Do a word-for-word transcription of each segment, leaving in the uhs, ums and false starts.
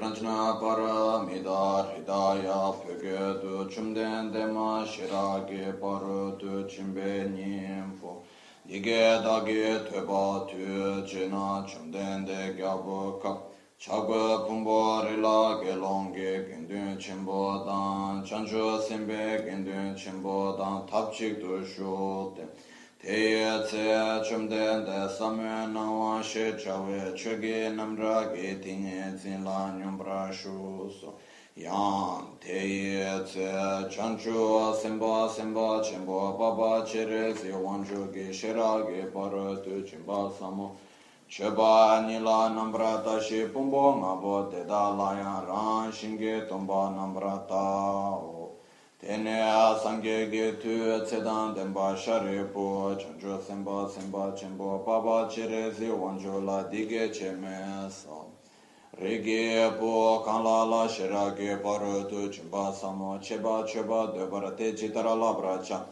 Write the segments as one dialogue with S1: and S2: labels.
S1: pranjna para midar hidaya pyoge du chumden dema shirage paru du chimbe nyingpo dige dage tueba tu jina chumden de gyabu kap chagwa pumbo rila gelonge gendun chimbo dan chanchu simbe gendun chimbo dan tapchik du shute Teye tse chumden de samye nawa she chawe choge namra ge tinge zinla nyumbra shu so yang teye tse chanchu semba semba chembo baba chere zi wanchu ge shera ge para tu chimba samo cheba nila nambra ta she pumbo ngabo te da layan ran shinge tomba nambra ta o Tene sangye ge tu tsedan denpa shari po chancho semba semba chenpo papa chere zi wancho la dige che me sa Rege po kanla la shira ge paro tu chimpa samo cheba cheba debara te chitara la bracha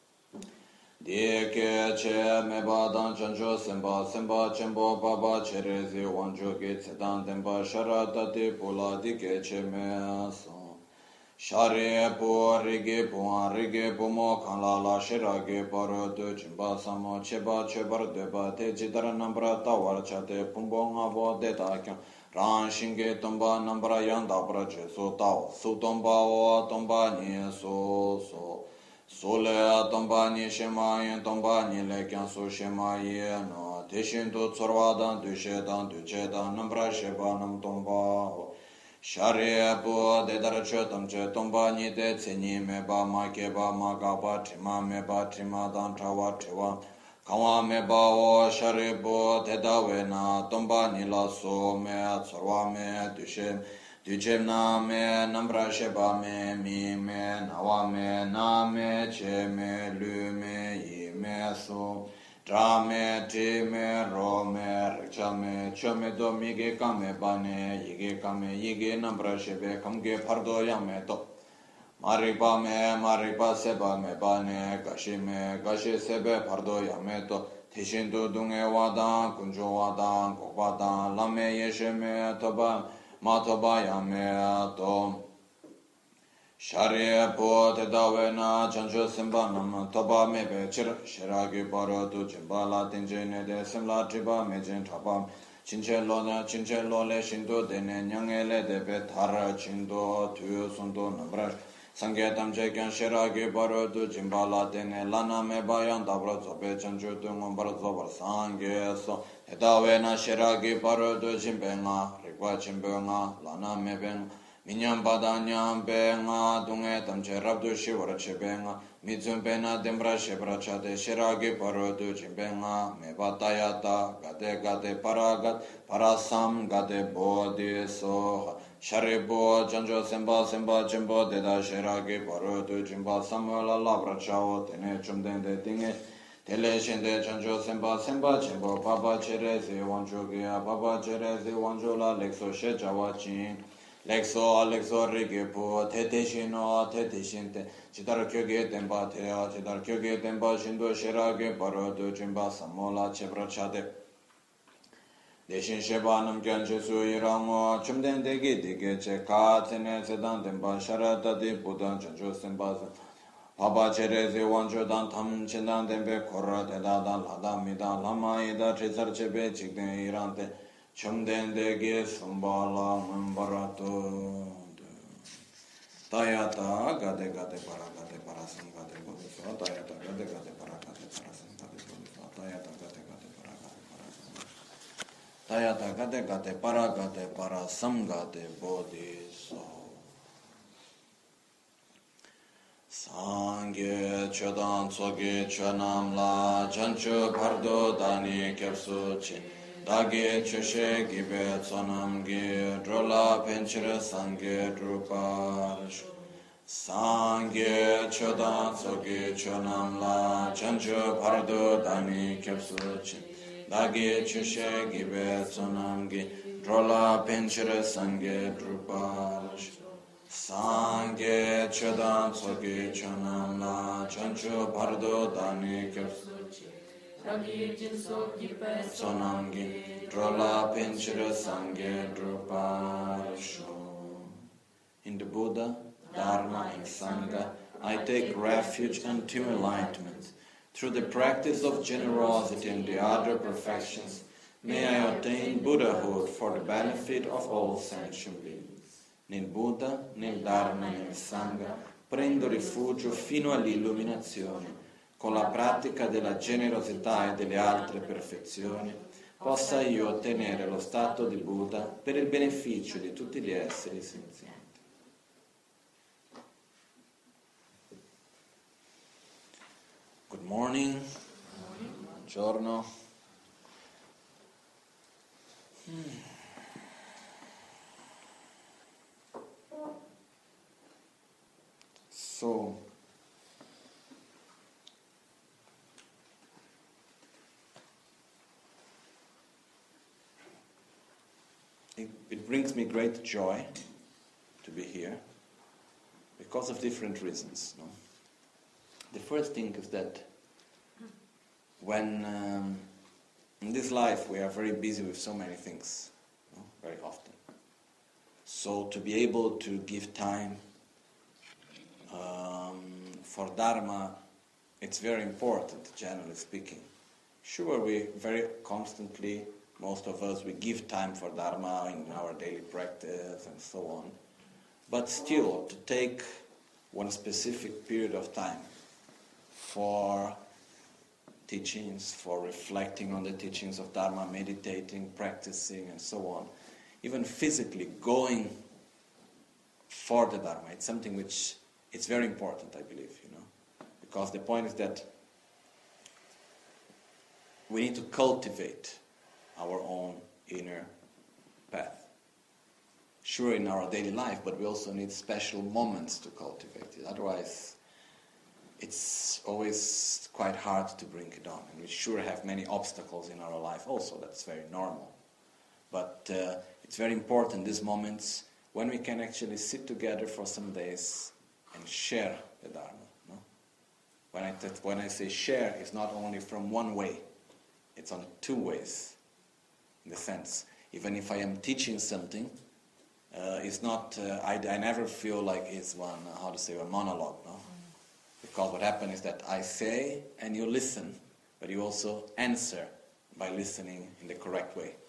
S1: Dike che me badan chancho semba semba chenpo papa chere zi wancho ge tsedan denpa shara tate po la dige che me sa Shari po rigi po rigi po mo kanla la shiragi paro tu chimba samo cheba chebar deba te jidara nambra tawar chate pumbo nga bo de ta kyang ran shingi tomba nambra yanda pra che so tao su tomba o tomba ni so so so le tomba ni shema yin tomba ni le kyang so shema yin no te shin tu tsorwa dan tu she dan tu che dan nambra sheba nam tomba o Shari po de dar chotam che tomba ni de tseni me ba ma ke ba ma ga ba trima me ba trima dan trawa triwa kawa me ba o shari po de da we na tomba ni la so me tsarwa me dushem dushem na me nambra she ba me mi me nawa me na me che me lu me yi me so Tra me, tri me, ro me, rikcha me, cho me do mi ge kame bane, yige kame, yige nambra shebe, kamge pardo yame to. Marikpa me, marikpa seba me bane, gashi me, gashi sebe pardo yame to. Tishintu dunge wadan, kunjo wadan, kokwadan, lame yeshe me, toba, ma toba yame to. Shari po te dawe na chancho simba nam toba mebe chir shiragi paro tu chimba la tinje ne de simla triba me jen traba chinche lo na chinche lo le shinto de ne nyange le de pe thara chindo tu sunto nambra sangye tamche kyan shiragi paro tu chimba la tene lana me bayan tabra zobe chancho tu ngombar zobar sangye so te dawe na shiragi paro tu chimbe nga rikwa chimbe nga lana mebe nga Minyam pada nyam pe nga dunge tamche rabdu shivara chepe nga mitsum pe na dembra shebra chate shiragi paro tu chimpe nga me batayata gate gate paragat parasam gate bodhi soha sharibo chancho semba semba chimbo deda shiragi paro tu chimba samola labra chao tene chumden de tinge Tele shende chancho semba semba chimbo papa chere zi wancho gya papa chere zi wancho la lekso she chawa chin Lexo, Alexo, Rigipo, Tete Shino, Tete Shinte, Chidar Kyoge Temba Tea, Chidar Kyoge Temba Shindo Shirage, Parodo, Jimba, Samola, Chebrachade. Deshin Shebanam Ganjesu Iramo, Chumden Degi Dige, Cheka, Tene, Sedan Temba, Sharata di Budan, Chanjo Sembasa. Papa Cherezi, Wanjo Dan Tam, Chindan Tembe, Korra, Tedadan, Lada, Mida, Lama, Ida, Trizar Chebe, Chikden Irante. Chumden de ge sumbala mbarato Tayata gade gade para gade para sam gade bodhiso Tayata gade gade para gade para sam gade bodhiso Tayata gade gade para gade para sam Tayata gade gade para gade para sam gade bodhiso Sangye chodan tsoge chonam la chancho pardo dani kepsu chin Dagi chushe gibe tsonam gi drola penchira sangye druparish Sangye chodan tsoge chonam la chancho pardo dani kepsu chin Dagi chushe gibe tsonam gi drola penchira sangye druparish Sangye chodan tsoge chonam la chancho pardo dani kepsu chin Sonangi, Drola Pinchira Sangye Druparisho. In the Buddha, Dharma, and Sangha, I take refuge unto enlightenment. Through the practice of generosity and the other perfections, may I attain Buddhahood for the benefit of all sentient beings. Nel Buddha, nel Dharma e nel Sangha prendo rifugio fino all'illuminazione. Con la pratica della generosità e delle altre perfezioni, possa io ottenere lo stato di Buddha per il beneficio di tutti gli esseri senzienti. Good morning. Buongiorno. Hmm. So, it, it brings me great joy to be here because of different reasons. No? The first thing is that when um, in this life we are very busy with so many things, no? Very often. So to be able to give time um, for Dharma, it's very important, generally speaking. Sure, we very constantly, most of us, we give time for Dharma in our daily practice and so on. But still, to take one specific period of time for teachings, for reflecting on the teachings of Dharma, meditating, practicing, and so on, even physically going for the Dharma, it's something which it's very important, I believe, you know, because the point is that we need to cultivate our own inner path. Sure, in our daily life, but we also need special moments to cultivate it. Otherwise, it's always quite hard to bring it on. And we sure have many obstacles in our life also. That's very normal. But uh, it's very important, these moments, when we can actually sit together for some days and share the Dharma. No? When I, t- when I say share, it's not only from one way. It's on two ways. In the sense, even if I am teaching something, uh, it's not, uh, I, I never feel like it's one, uh, how to say, a monologue, no? Because what happens is that I say and you listen, but you also answer by listening in the correct way.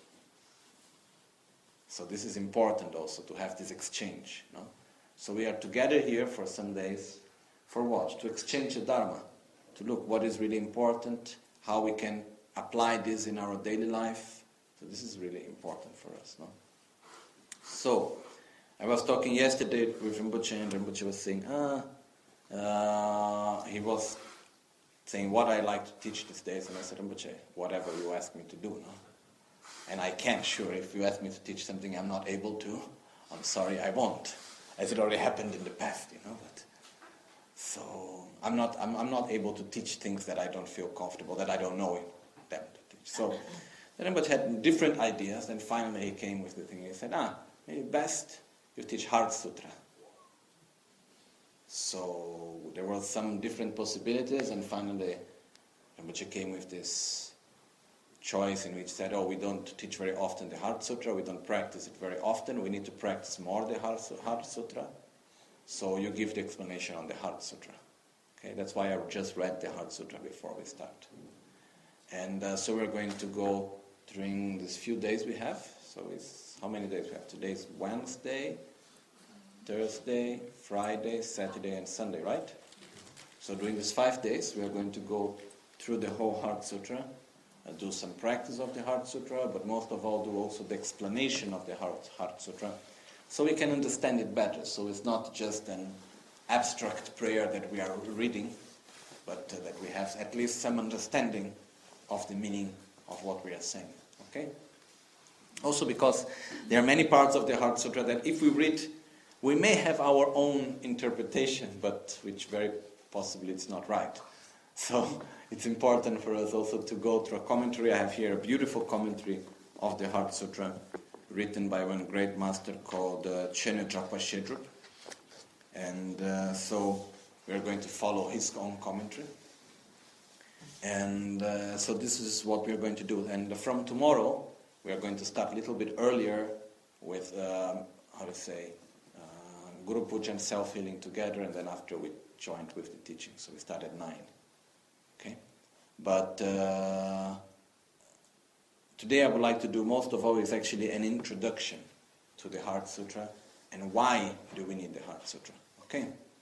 S1: So this is important also, to have this exchange, no? So we are together here for some days, for what? To exchange the Dharma, to look what is really important, how we can apply this in our daily life. So this is really important for us, no? So, I was talking yesterday with Rinpoche, and Rinpoche was saying, ah, uh, he was saying what I like to teach these days, and I said, Rinpoche, whatever you ask me to do, no? And I can, sure, if you ask me to teach something I'm not able to, I'm sorry, I won't, as it already happened in the past, you know, but so, I'm not, I'm, I'm not able to teach things that I don't feel comfortable, that I don't know them to teach. So, then Rinpoche had different ideas, and finally he came with the thing. He said, ah, maybe best you teach Heart Sutra. So there were some different possibilities, and finally Rinpoche came with this choice in which said, oh, we don't teach very often the Heart Sutra, we don't practice it very often, we need to practice more the Heart Sutra. So you give the explanation on the Heart Sutra. Okay, that's why I just read the Heart Sutra before we start. And uh, so we're going to go during these few days we have. So it's, how many days we have? Today is Wednesday, Thursday, Friday, Saturday, and Sunday, right? So during these five days, we are going to go through the whole Heart Sutra, uh, do some practice of the Heart Sutra, but most of all do also the explanation of the Heart, Heart Sutra, so we can understand it better. So it's not just an abstract prayer that we are reading, but uh, that we have at least some understanding of the meaning of what we are saying. Okay? Also because there are many parts of the Heart Sutra that if we read, we may have our own interpretation, but which very possibly it's not right. So it's important for us also to go through a commentary. I have here a beautiful commentary of the Heart Sutra written by one great master called uh, Chene Drapa Shedrup. And uh, so we're going to follow his own commentary. And uh, so this is what we are going to do. And from tomorrow, we are going to start a little bit earlier with, um, how to say, uh, Guru Puja and self-healing together, and then after we joined with the teaching. So we start at nine. Okay? But uh, today I would like to do most of all is actually an introduction to the Heart Sutra and why do we need the Heart Sutra. Okay?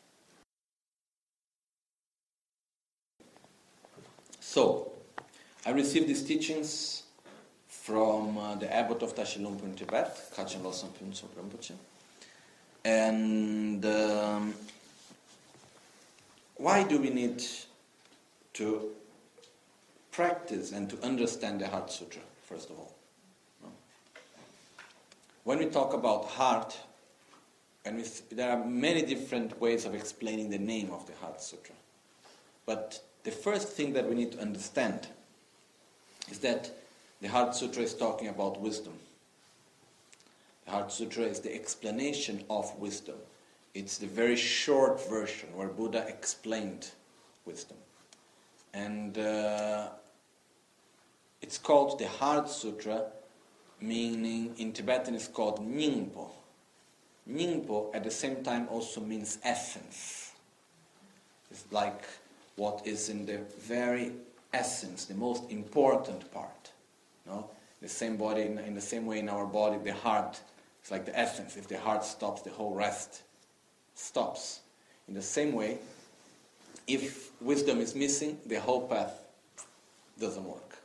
S1: So, I received these teachings from uh, the abbot of Tashi Lhunpo in Tibet, Kachin Losam Phuntsok Rinpoche. And um, why do we need to practice and to understand the Heart Sutra, first of all? When we talk about heart, and we th- there are many different ways of explaining the name of the Heart Sutra. But the first thing that we need to understand is that the Heart Sutra is talking about wisdom. The Heart Sutra is the explanation of wisdom. It's the very short version where Buddha explained wisdom. And uh, it's called the Heart Sutra, meaning in Tibetan it's called Nyingpo. Nyingpo at the same time also means essence. It's like what is in the very essence, the most important part. No? The same body, in, in the same way in our body, the heart is like the essence. If the heart stops, the whole rest stops. In the same way, if wisdom is missing, the whole path doesn't work.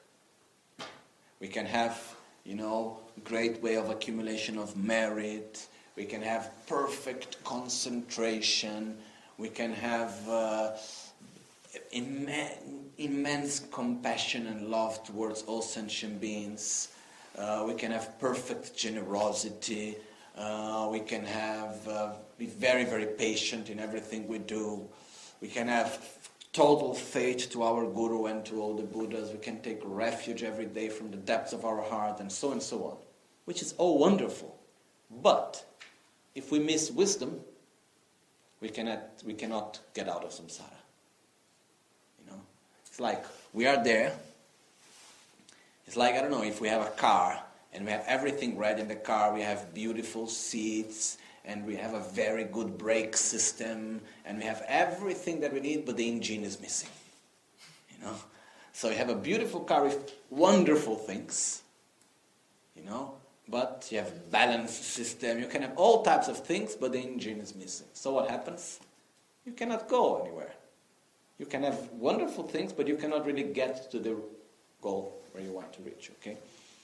S1: We can have, you know, great way of accumulation of merit. We can have perfect concentration. We can have uh, immense, immense compassion and love towards all sentient beings. Uh, we can have perfect generosity. Uh, we can have uh, be very, very patient in everything we do. We can have total faith to our Guru and to all the Buddhas. We can take refuge every day from the depths of our heart, and so and so on, which is all wonderful. But if we miss wisdom, we cannot we cannot get out of samsara. You know, it's like we are there. It's like, I don't know, if we have a car and we have everything ready in the car, we have beautiful seats and we have a very good brake system and we have everything that we need, but the engine is missing. You know, so you have a beautiful car with wonderful things, you know, but you have balance system, you can have all types of things, but the engine is missing. So what happens? You cannot go anywhere. You can have wonderful things, but you cannot really get to the goal where you want to reach, okay?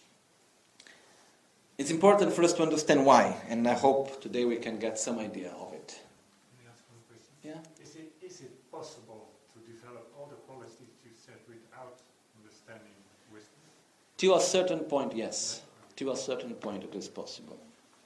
S1: It's important for us to understand why, and I hope today we can get some idea of it.
S2: Can I ask one question?
S1: Yeah?
S2: Is it, is it possible to develop all the qualities you said without understanding wisdom?
S1: To a certain point, yes. To a certain point it is possible.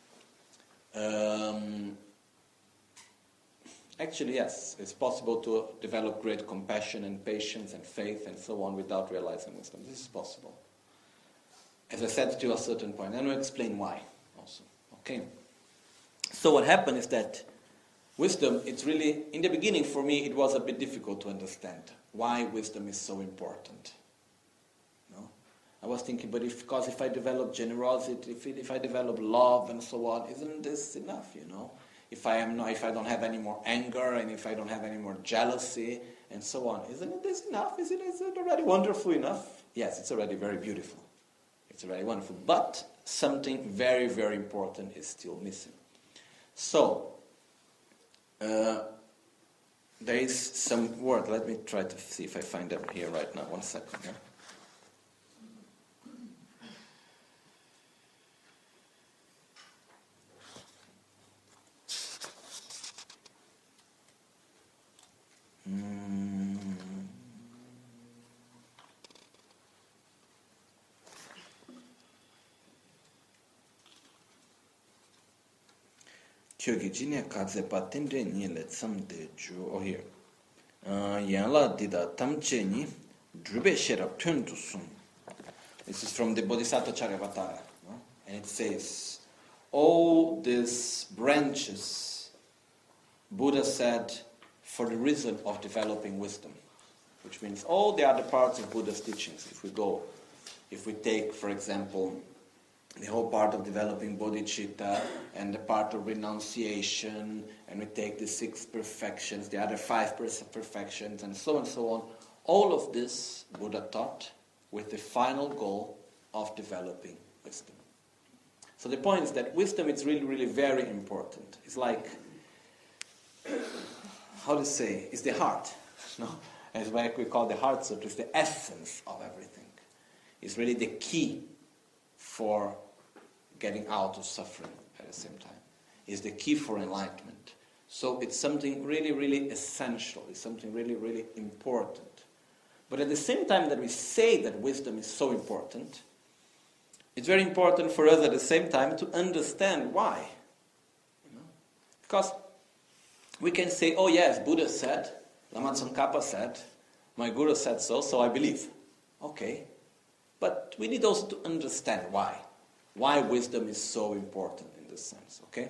S1: Um, actually, yes, it's possible to develop great compassion and patience and faith and so on without realizing wisdom. This is possible. As I said, to a certain point. And I'll explain why also. Okay? So what happened is that wisdom, it's really, in the beginning for me, it was a bit difficult to understand why wisdom is so important. No? I was thinking, but if, because if I develop generosity, if, it, if I develop love and so on, isn't this enough, you know? If I am not, if I don't have any more anger and if I don't have any more jealousy and so on, isn't this enough? Is it, is it already wonderful enough? Yes, it's already very beautiful. It's already wonderful. But something very, very important is still missing. So, uh, there is some word. Let me try to see if I find them here right now. One second. Yeah? Mm. Kyogi jine kaze pa tendre ni le tsamde ju o here. Yanla dida tamche ni drube sherab tundu sum. This is from the Bodhisattva Charyavatara. No? And it says, all these branches, Buddha said, for the reason of developing wisdom. which means all the other parts of Buddha's teachings. If we go, if we take, for example, the whole part of developing bodhicitta and the part of renunciation, and we take the six perfections, the other five perfections, and so on and so on, all of this Buddha taught with the final goal of developing wisdom. So the point is that wisdom is really, really very important. It's like, how to say, it's the heart. No? It's what we call the heart sutra. It's the essence of everything. It's really the key for getting out of suffering at the same time. It's the key for enlightenment. So it's something really, really essential. It's something really, really important. But at the same time that we say that wisdom is so important, it's very important for us at the same time to understand why. You know? Because we can say, oh yes, Buddha said, Lama Tsongkhapa said, my Guru said so, so I believe. Okay. But we need also to understand why. Why wisdom is so important in this sense, okay?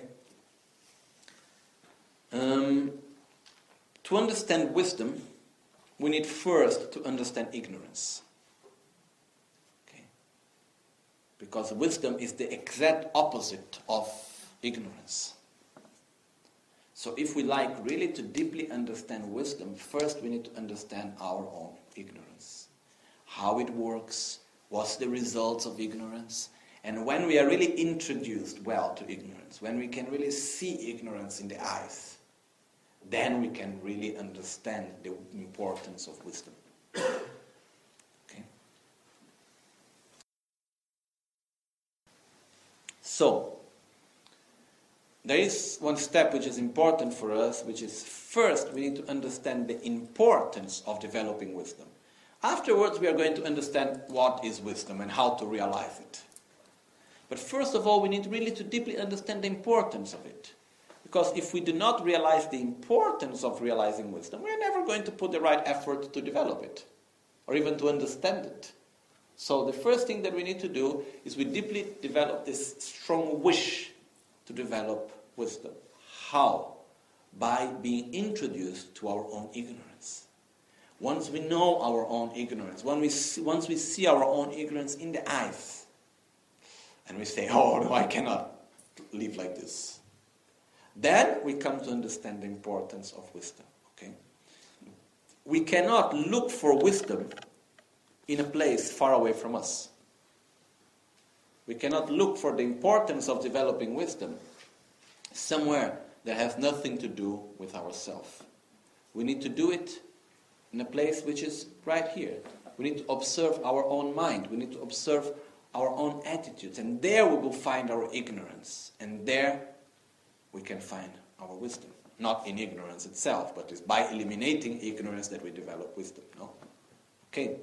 S1: Um, to understand wisdom, we need first to understand ignorance. Okay? Because wisdom is the exact opposite of ignorance. So if we like really to deeply understand wisdom, first we need to understand our own ignorance. How it works, what's the results of ignorance, and when we are really introduced well to ignorance, when we can really see ignorance in the eyes, then we can really understand the importance of wisdom. Okay? So, there is one step which is important for us, which is first we need to understand the importance of developing wisdom. Afterwards we are going to understand what is wisdom and how to realize it. But first of all we need really to deeply understand the importance of it. Because if we do not realize the importance of realizing wisdom, we are never going to put the right effort to develop it, or even to understand it. So the first thing that we need to do is we deeply develop this strong wish to develop wisdom. How? By being introduced to our own ignorance. Once we know our own ignorance, when we see, once we see our own ignorance in the eyes, and we say, oh no, I cannot live like this, then we come to understand the importance of wisdom. Okay? We cannot look for wisdom in a place far away from us. We cannot look for the importance of developing wisdom somewhere that has nothing to do with ourselves. We need to do it in a place which is right here. We need to observe our own mind. We need to observe our own attitudes. And there we will find our ignorance. And there we can find our wisdom. Not in ignorance itself, but it's by eliminating ignorance that we develop wisdom. No? Okay.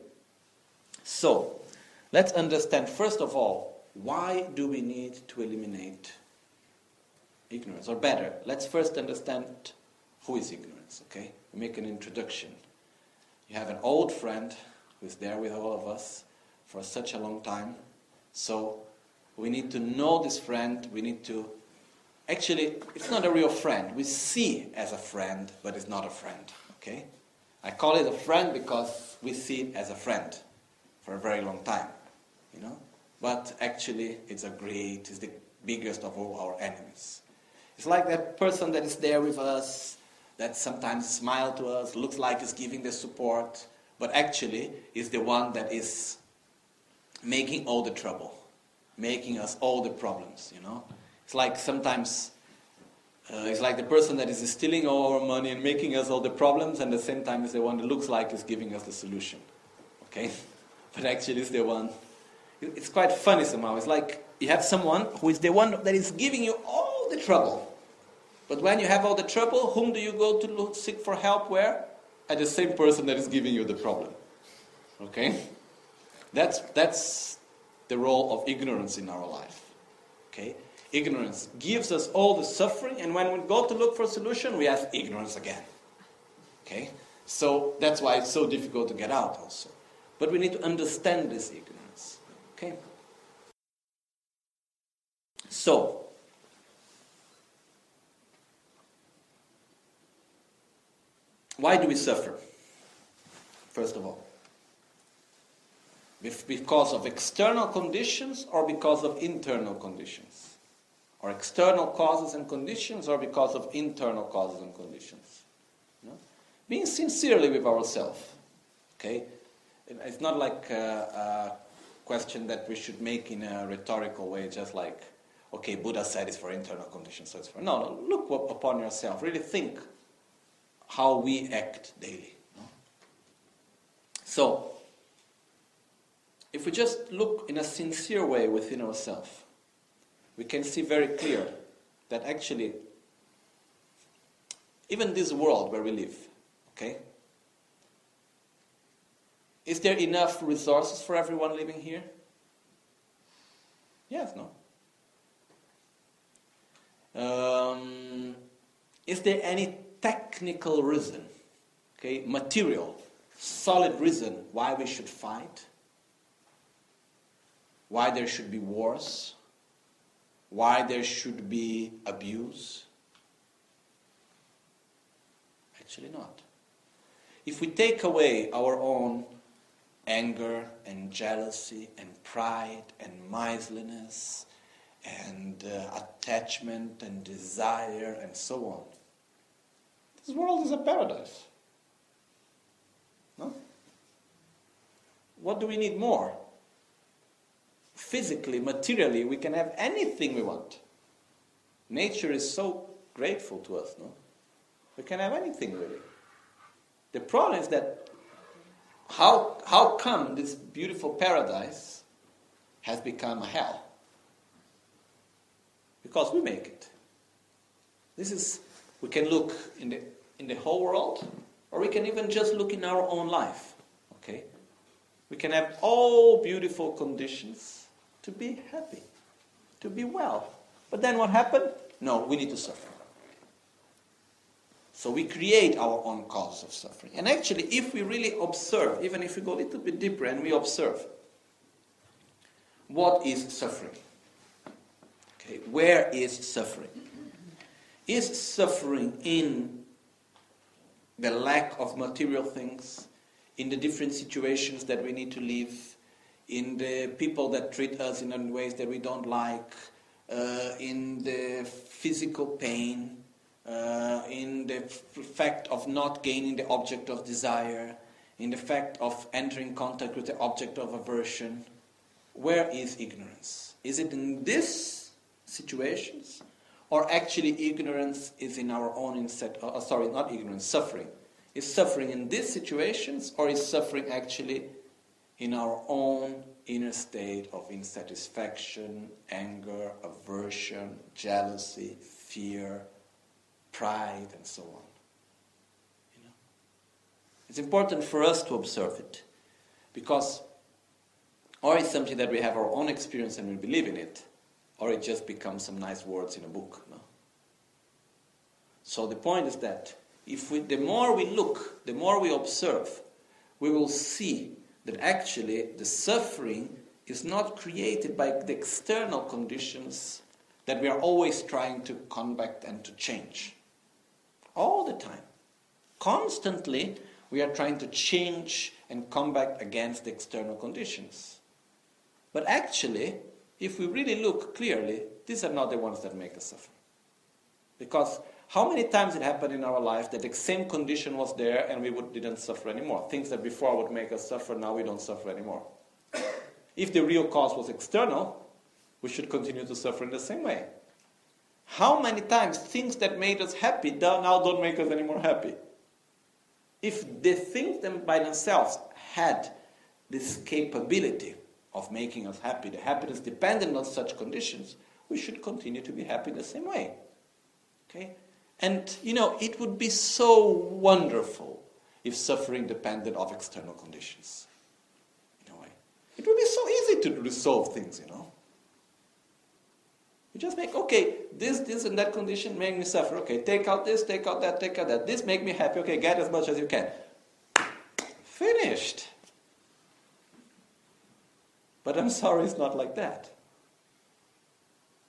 S1: So, let's understand first of all, why do we need to eliminate ignorance? Or better, let's first understand who is ignorance, okay? We make an introduction. You have an old friend who is there with all of us for such a long time. So we need to know this friend. We need to... Actually, it's not a real friend. We see as a friend, but it's not a friend, okay? I call it a friend because we see it as a friend for a very long time, you know? But actually, it's a great, it's the biggest of all our enemies. It's like that person that is there with us, that sometimes smiles to us, looks like he's giving the support, but actually is the one that is making all the trouble, making us all the problems, you know? It's like sometimes, uh, it's like the person that is stealing all our money and making us all the problems, and at the same time is the one that looks like is giving us the solution, okay? But actually is the one... It's quite funny somehow. It's like you have someone who is the one that is giving you all the trouble. But when you have all the trouble, whom do you go to look, seek for help where? At the same person that is giving you the problem. Okay? That's, that's the role of ignorance in our life. Okay? Ignorance gives us all the suffering, and when we go to look for a solution, we have ignorance again. Okay? So that's why it's so difficult to get out also. But we need to understand this ignorance. Okay. So, why do we suffer?
S3: first of all? Because of external conditions or because of internal conditions? Or external causes and conditions or because of internal causes and conditions? You know? Being sincerely with ourselves. Okay? It's not like a, a question that we should make in a rhetorical way, just like, okay, Buddha said it's for internal conditions, so it's for... No, no, look upon yourself. Really think how we act daily. No? So, if we just look in a sincere way within ourselves, we can see very clear that actually, even this world where we live, okay, is there enough resources for everyone living here? Yes, no? Um, is there any technical reason, okay, material, solid reason why we should fight? Why there should be wars? Why there should be abuse? Actually not. If we take away our own anger and jealousy and pride and miserliness and uh, attachment and desire and so on, this world is a paradise. No? What do we need more? Physically, materially, we can have anything we want. Nature is so grateful to us, no? We can have anything, really. The problem is that how, how come this beautiful paradise has become a hell? Because we make it. This is, we can look in the, in the whole world, or we can even just look in our own life, okay? We can have all beautiful conditions to be happy, to be well. But then what happened? No, we need to suffer. So we create our own cause of suffering. And actually, if we really observe, even if we go a little bit deeper and we observe, what is suffering? Okay, where is suffering? Is suffering in the lack of material things, in the different situations that we need to live, in the people that treat us in ways that we don't like, uh, in the physical pain, uh, in the f- fact of not gaining the object of desire, in the fact of entering contact with the object of aversion? Where is ignorance? Is it in these situations? Or actually ignorance is in our own insect, uh, sorry, not ignorance, suffering. Is suffering in these situations, or is suffering actually in our own inner state of insatisfaction, anger, aversion, jealousy, fear, pride, and so on? You know? It's important for us to observe it, because or it's something that we have our own experience and we believe in it, or it just becomes some nice words in a book. No? So the point is that if we, the more we look, the more we observe, we will see that actually the suffering is not created by the external conditions that we are always trying to combat and to change. All the time. Constantly, we are trying to change and combat against the external conditions. But actually, if we really look clearly, these are not the ones that make us suffer. Because how many times it happened in our life that the same condition was there and we would, didn't suffer anymore? Things that before would make us suffer, now we don't suffer anymore. If the real cause was external, we should continue to suffer in the same way. How many times things that made us happy now don't make us any more happy? If the things them by themselves had this capability of making us happy, the happiness dependent on such conditions, we should continue to be happy the same way. Okay? And, you know, it would be so wonderful if suffering depended on external conditions. In a way. It would be so easy to resolve things, you know. You just make, okay, this, this, and that condition make me suffer. Okay, take out this, take out that, take out that. This make me happy. Okay, get as much as you can. Finished. But I'm sorry, it's not like that.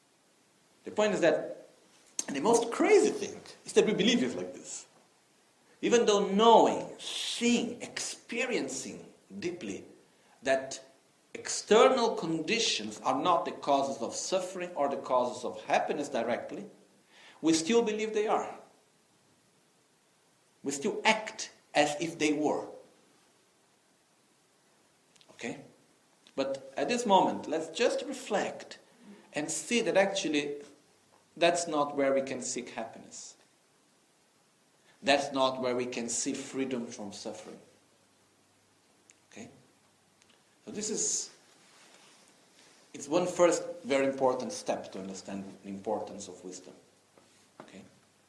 S3: The point is that, and the most crazy thing is that we believe it's like this. even though knowing, seeing, experiencing deeply that external conditions are not the causes of suffering or the causes of happiness directly, we still believe they are. We still act as if they were. Okay? But at this moment, let's just reflect and see that actually that's not where we can seek happiness. That's not where we can see freedom from suffering. Okay? So this is, it's one first very important step to understand the importance of wisdom. Okay?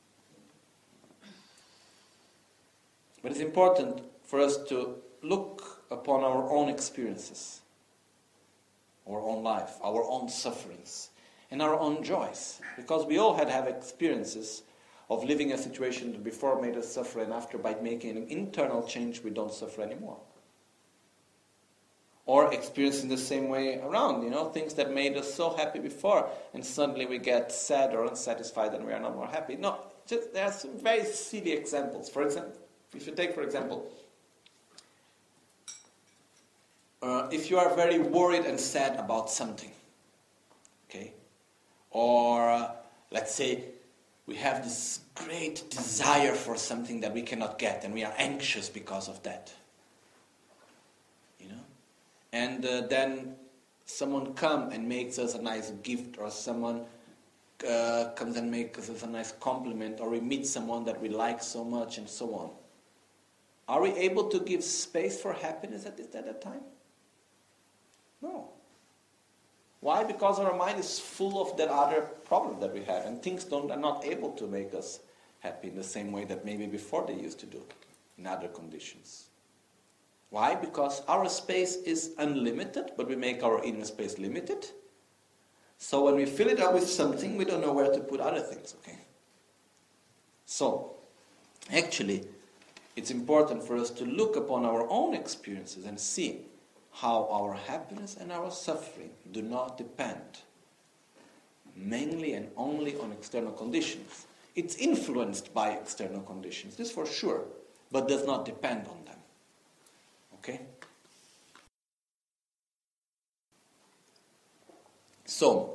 S3: But it's important for us to look upon our own experiences, our own life, our own sufferings, and our own joys. Because we all had have experiences of living a situation that before made us suffer, and after, by making an internal change, we don't suffer anymore. Or experiencing the same way around, you know, things that made us so happy before, and suddenly we get sad or unsatisfied and we are not more happy. No, just, there are some very silly examples. For example, if you take, for example, uh, if you are very worried and sad about something, okay, or uh, let's say we have this great desire for something that we cannot get, and we are anxious because of that. You know? And uh, then someone comes and makes us a nice gift, or someone uh, comes and makes us a nice compliment, or we meet someone that we like so much, and so on. Are we able to give space for happiness at, this, at that time? No. Why? Because our mind is full of that other problem that we have, and things don't, are not able to make us happy in the same way that maybe before they used to do, in other conditions. Why? Because our space is unlimited, but we make our inner space limited. So when we fill it up with something, we don't know where to put other things, okay? So, actually, it's important for us to look upon our own experiences and see how our happiness and our suffering do not depend mainly and only on external conditions. It's influenced by external conditions, this for sure, but does not depend on them. Okay? So,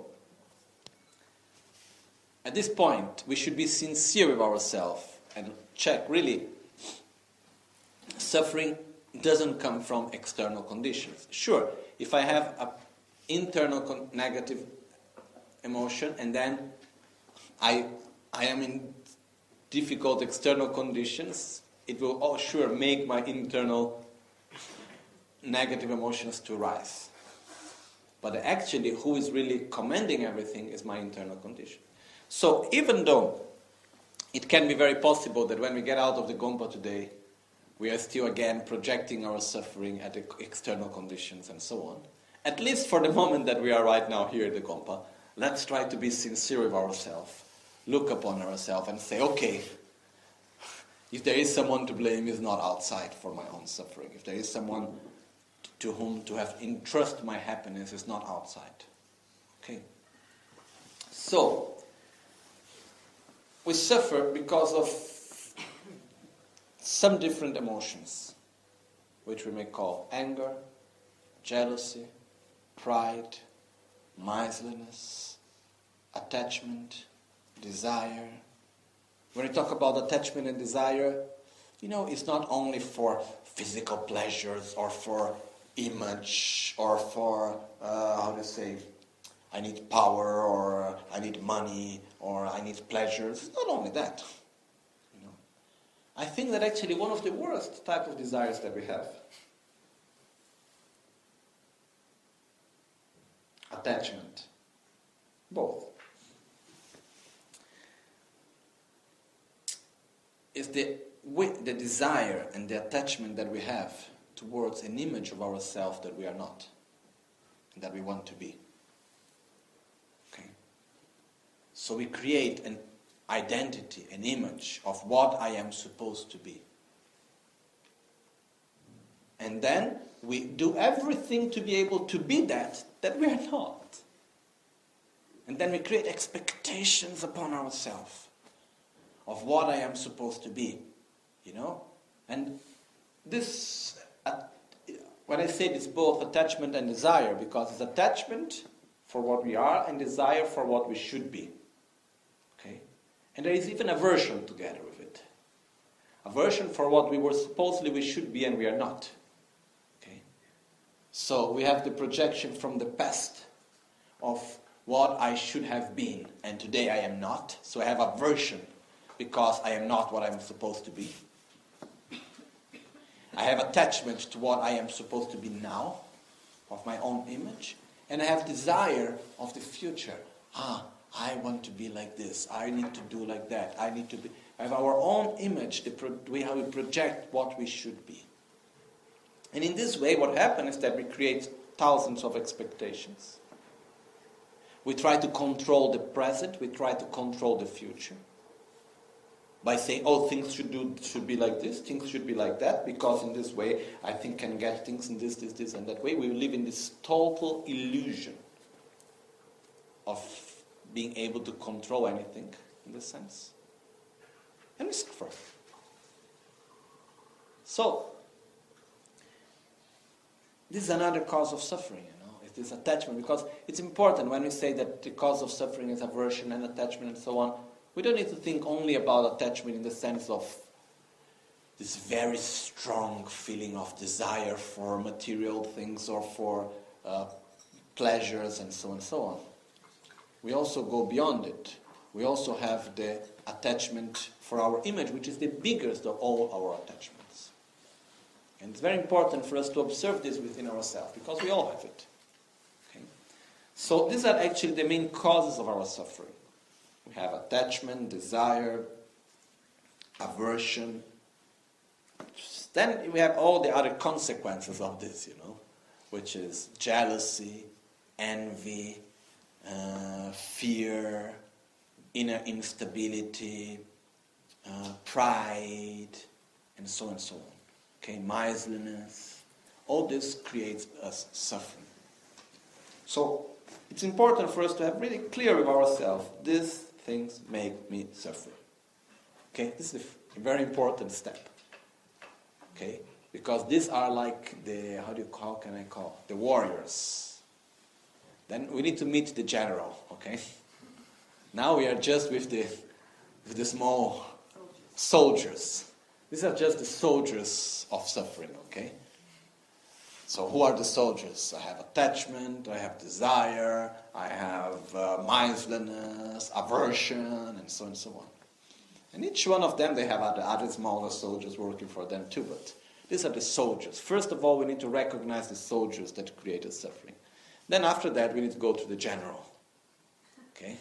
S3: at this point, we should be sincere with ourselves and check, really, suffering doesn't come from external conditions. Sure, if I have an internal con- negative emotion and then I I am in difficult external conditions, it will oh sure make my internal negative emotions to rise. But actually, who is really commanding everything is my internal condition. So even though it can be very possible that when we get out of the Gompa today, we are still again projecting our suffering at the external conditions and so on. At least for the moment that we are right now here at the Gompa, let's try to be sincere with ourselves, look upon ourselves and say, okay, if there is someone to blame, it's not outside for my own suffering. If there is someone to whom to have entrust my happiness, it's not outside. Okay. So, we suffer because of some different emotions, which we may call anger, jealousy, pride, miserliness, attachment, desire. When we talk about attachment and desire, you know, it's not only for physical pleasures or for image or for, uh, how to say, I need power or I need money or I need pleasures. It's not only that. I think that actually one of the worst type of desires that we have, attachment, both, is the the desire and the attachment that we have towards an image of ourselves that we are not, and that we want to be. Okay. So we create an identity, an image of what I am supposed to be. And then we do everything to be able to be that, that we are not. And then we create expectations upon ourselves of what I am supposed to be You know? And this, uh, when I say it's both attachment and desire, because it's attachment for what we are and desire for what we should be. Okay? And there is even aversion together with it. Aversion for what we were supposedly we should be and we are not. Okay? So we have the projection from the past of what I should have been, and today I am not. So I have aversion because I am not what I'm supposed to be. I have attachment to what I am supposed to be now, of my own image, and I have desire of the future. Ah, I want to be like this. I need to do like that. I need to be. I have our own image, the pro- we, how we project what we should be. And in this way, what happens is that we create thousands of expectations. We try to control the present. We try to control the future. By saying, oh, things should do should be like this, things should be like that, because in this way I think can get things in this, this, this, and that way. We live in this total illusion of being able to control anything, in this sense. And we suffer. So, this is another cause of suffering, you know, it is attachment, because it's important when we say that the cause of suffering is aversion and attachment and so on. We don't need to think only about attachment in the sense of this very strong feeling of desire for material things or for uh, pleasures and so on and so on. We also go beyond it. We also have the attachment for our image, which is the biggest of all our attachments. And it's very important for us to observe this within ourselves, because we all have it. Okay? So these are actually the main causes of our suffering. We have attachment, desire, aversion. Then we have all the other consequences of this, you know, which is jealousy, envy, uh, fear, inner instability, uh, pride, and so on and so on. Okay, miserliness. All this creates us suffering. So it's important for us to have really clear with ourselves, these things make me suffer. Okay, this is a very important step. Okay, because these are like the, how do you, how can I call, the warriors. Then we need to meet the general, okay? Now we are just with the, with the small soldiers. These are just the soldiers of suffering, okay? So who are the soldiers? I have attachment, I have desire, I have uh, miserliness, aversion, and so on and so on. And each one of them, they have other, other smaller soldiers working for them too, but these are the soldiers. First of all, we need to recognize the soldiers that created suffering. Then after that, we need to go to the general. Okay?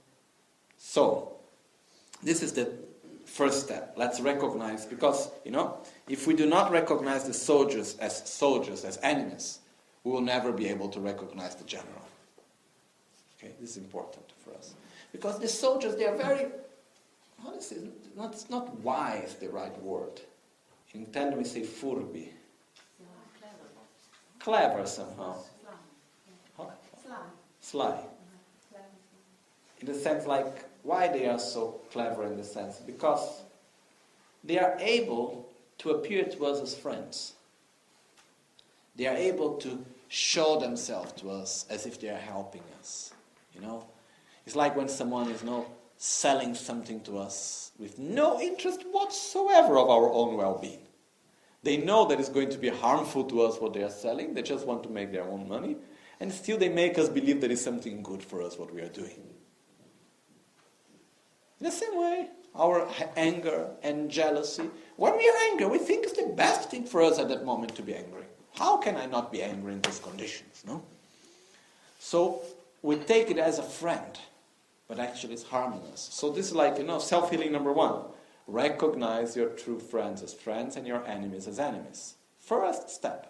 S3: So, this is the first step. Let's recognize, because, you know, if we do not recognize the soldiers as soldiers, as enemies, we will never be able to recognize the general. Okay, this is important for us. Because the soldiers, they are very, how is it? Not, it's not wise, the right word. In Italian we say furbi. Clever somehow. Huh? Sly. In the sense like, why they are so clever in the sense? Because they are able to appear to us as friends. They are able to show themselves to us as if they are helping us. You know? It's like when someone is, you know, selling something to us with no interest whatsoever of our own well-being. They know that it's going to be harmful to us what they are selling. They just want to make their own money. And still they make us believe that it's something good for us what we are doing. In the same way, our anger and jealousy. When we are angry, we think it's the best thing for us at that moment to be angry. How can I not be angry in those conditions? No? So we take it as a friend, but actually it's harming us. So this is like, you know, self-healing number one. Recognize your true friends as friends and your enemies as enemies. First step.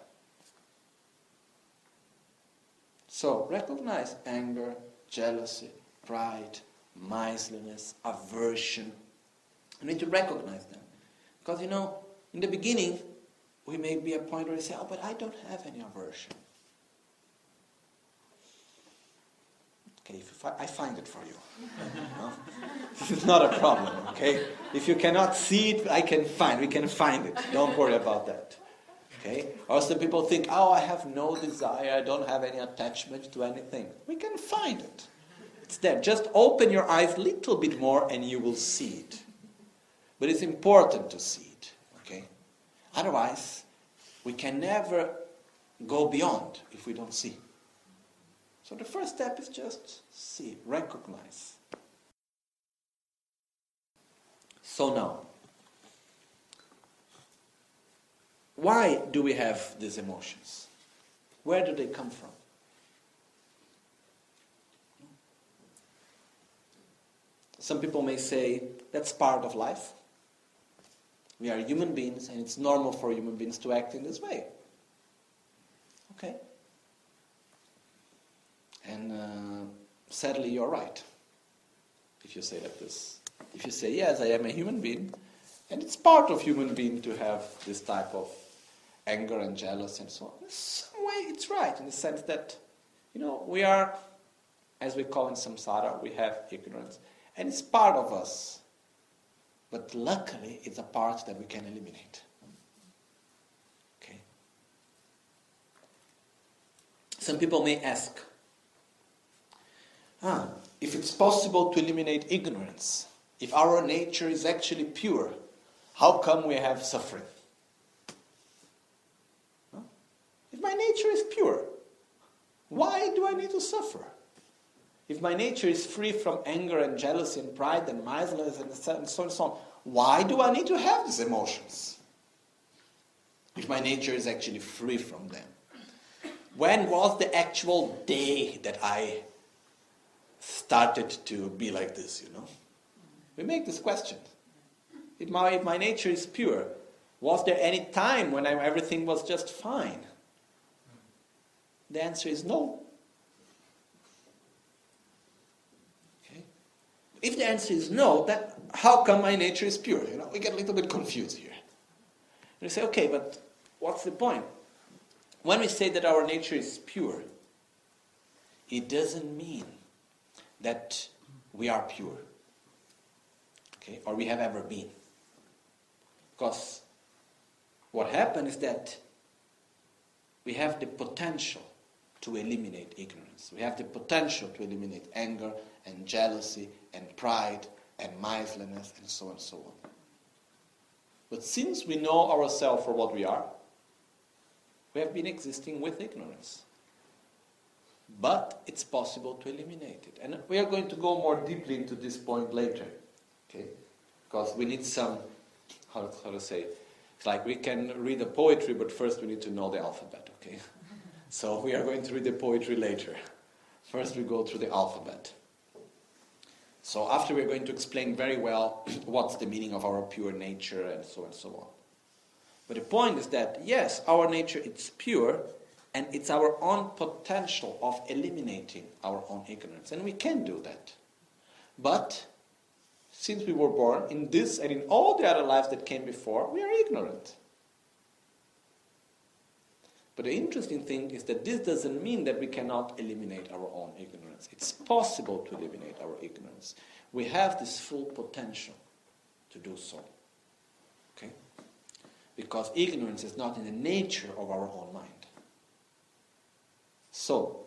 S3: So recognize anger, jealousy, pride, miserliness, aversion. You need to recognize them. Because, you know, in the beginning, we may be a point where we say, oh, but I don't have any aversion. Okay, if you fi- I find it for you. No? This is not a problem, okay? If you cannot see it, I can find. We can find it. Don't worry about that. Okay? Or some people think, oh, I have no desire. I don't have any attachment to anything. We can find it. It's there. Just open your eyes a little bit more and you will see it. But it's important to see it. Okay? Otherwise, we can never go beyond if we don't see. So the first step is just see, recognize. So now, why do we have these emotions? Where do they come from? Some people may say, that's part of life. We are human beings and it's normal for human beings to act in this way. Okay. And uh, sadly, you're right. If you say like this, if you say, yes, I am a human being, and it's part of human being to have this type of anger and jealousy and so on. In some way, it's right in the sense that, you know, we are, as we call in samsara, we have ignorance, and it's part of us. But luckily, it's a part that we can eliminate. Okay. Some people may ask, Ah, if it's possible to eliminate ignorance, if our nature is actually pure, how come we have suffering? Huh? If my nature is pure, why do I need to suffer? If my nature is free from anger and jealousy and pride and miserliness and so on and so on, why do I need to have these emotions? If my nature is actually free from them. When was the actual day that I started to be like this, you know? We make this question. If my, if my nature is pure, was there any time when I, everything was just fine? The answer is no. Okay? If the answer is no, then how come my nature is pure? You know, we get a little bit confused here. And we say, okay, but what's the point? When we say that our nature is pure, it doesn't mean that we are pure, okay, or we have ever been. Because what happened is that we have the potential to eliminate ignorance. We have the potential to eliminate anger and jealousy and pride and miserliness and so on and so on. But since we know ourselves for what we are, we have been existing with ignorance. But it's possible to eliminate it. And we are going to go more deeply into this point later. Okay? Because we need some, how, how to say, it's like we can read the poetry, but first we need to know the alphabet, okay? So we are going to read the poetry later. First we go through the alphabet. So after we're going to explain very well what's the meaning of our pure nature and so on and so on. But the point is that, yes, our nature is pure, and it's our own potential of eliminating our own ignorance. And we can do that. But since we were born, in this and in all the other lives that came before, we are ignorant. But the interesting thing is that this doesn't mean that we cannot eliminate our own ignorance. It's possible to eliminate our ignorance. We have this full potential to do so. Okay? Because ignorance is not in the nature of our own mind. So,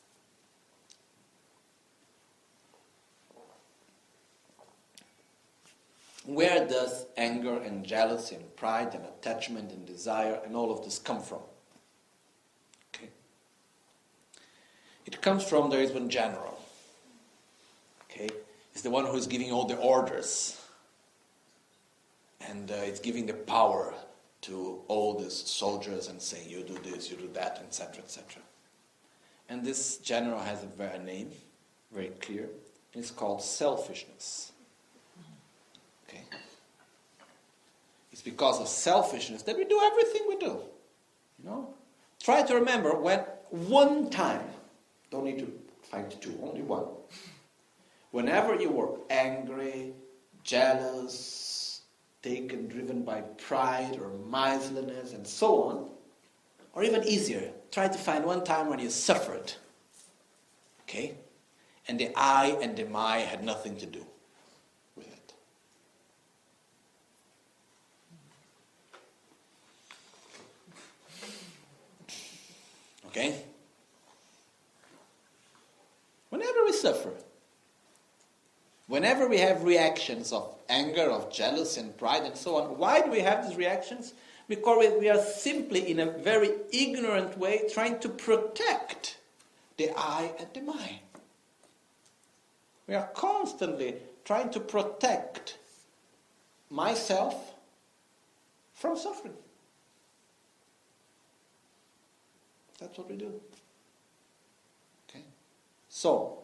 S3: where does anger and jealousy and pride and attachment and desire and all of this come from? Okay. It comes from, there is one general. Okay. It's the one who is giving all the orders. And uh, it's giving the power to all these soldiers and saying, you do this, you do that, et cetera, et cetera. And this general has a very name, very clear. And it's called selfishness. Okay? It's because of selfishness that we do everything we do. You know? Try to remember when one time, don't need to find two, only one. Whenever you were angry, jealous, taken, driven by pride or miserliness and so on, or even easier, try to find one time when you suffered. Okay? And the I and the my had nothing to do with it. Okay? Whenever we suffer, whenever we have reactions of anger, of jealousy and pride and so on, why do we have these reactions? Because we are simply, in a very ignorant way, trying to protect the I and the my. We are constantly trying to protect myself from suffering. That's what we do. Okay? So,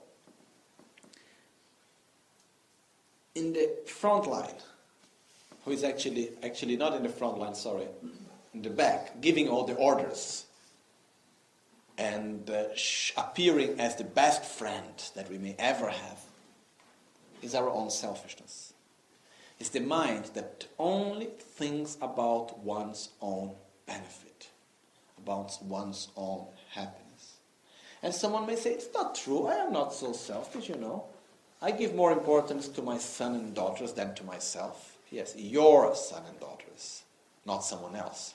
S3: in the front line, who is actually, actually not in the front line, sorry, in the back, giving all the orders and uh, sh- appearing as the best friend that we may ever have, is our own selfishness. It's the mind that only thinks about one's own benefit, about one's own happiness. And someone may say, it's not true, I am not so selfish, you know. I give more importance to my son and daughters than to myself. Yes, your son and daughters, not someone else.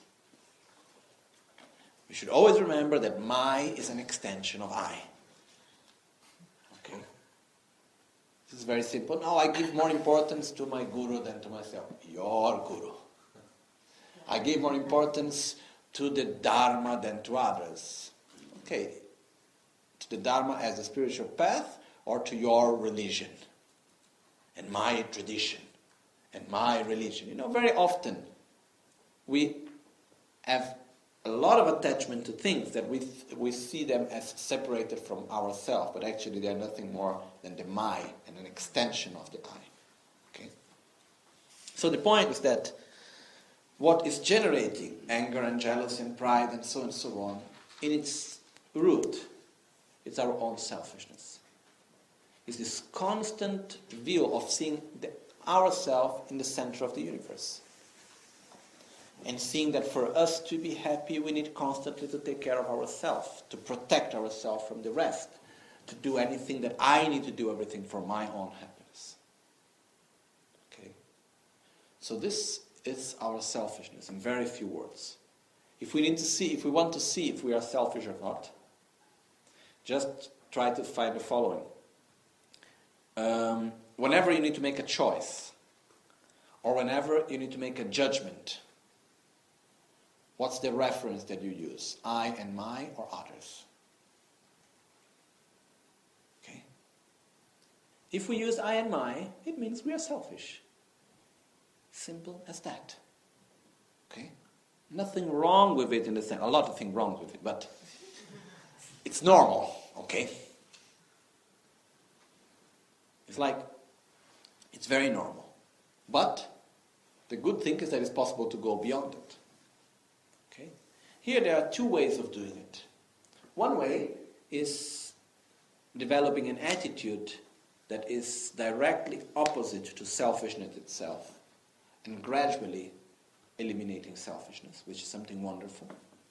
S3: We should always remember that my is an extension of I. Okay? This is very simple. Now I give more importance to my guru than to myself. Your guru. I give more importance to the Dharma than to others. Okay. To the Dharma as a spiritual path, or to your religion and my tradition and my religion. You know, very often we have a lot of attachment to things that we we see them as separated from ourselves, but actually they are nothing more than the my and an extension of the I. Okay? So the point is that what is generating anger and jealousy and pride and so on and so on, in its root, it's our own selfishness. It's this constant view of seeing the, ourselves in the center of the universe. And seeing that for us to be happy, we need constantly to take care of ourselves, to protect ourselves from the rest, to do anything that I need to do, everything for my own happiness. Okay? So this is our selfishness in very few words. If we need to see, if we want to see if we are selfish or not, just try to find the following. Um, whenever you need to make a choice, or whenever you need to make a judgment, what's the reference that you use? I and my, or others? Okay? If we use I and my, it means we are selfish. Simple as that. Okay? Nothing wrong with it in the sense, a lot of things wrong with it, but it's normal, okay? It's like, it's very normal. But the good thing is that it's possible to go beyond it. Okay? Here there are two ways of doing it. One way is developing an attitude that is directly opposite to selfishness itself, and gradually eliminating selfishness, which is something wonderful.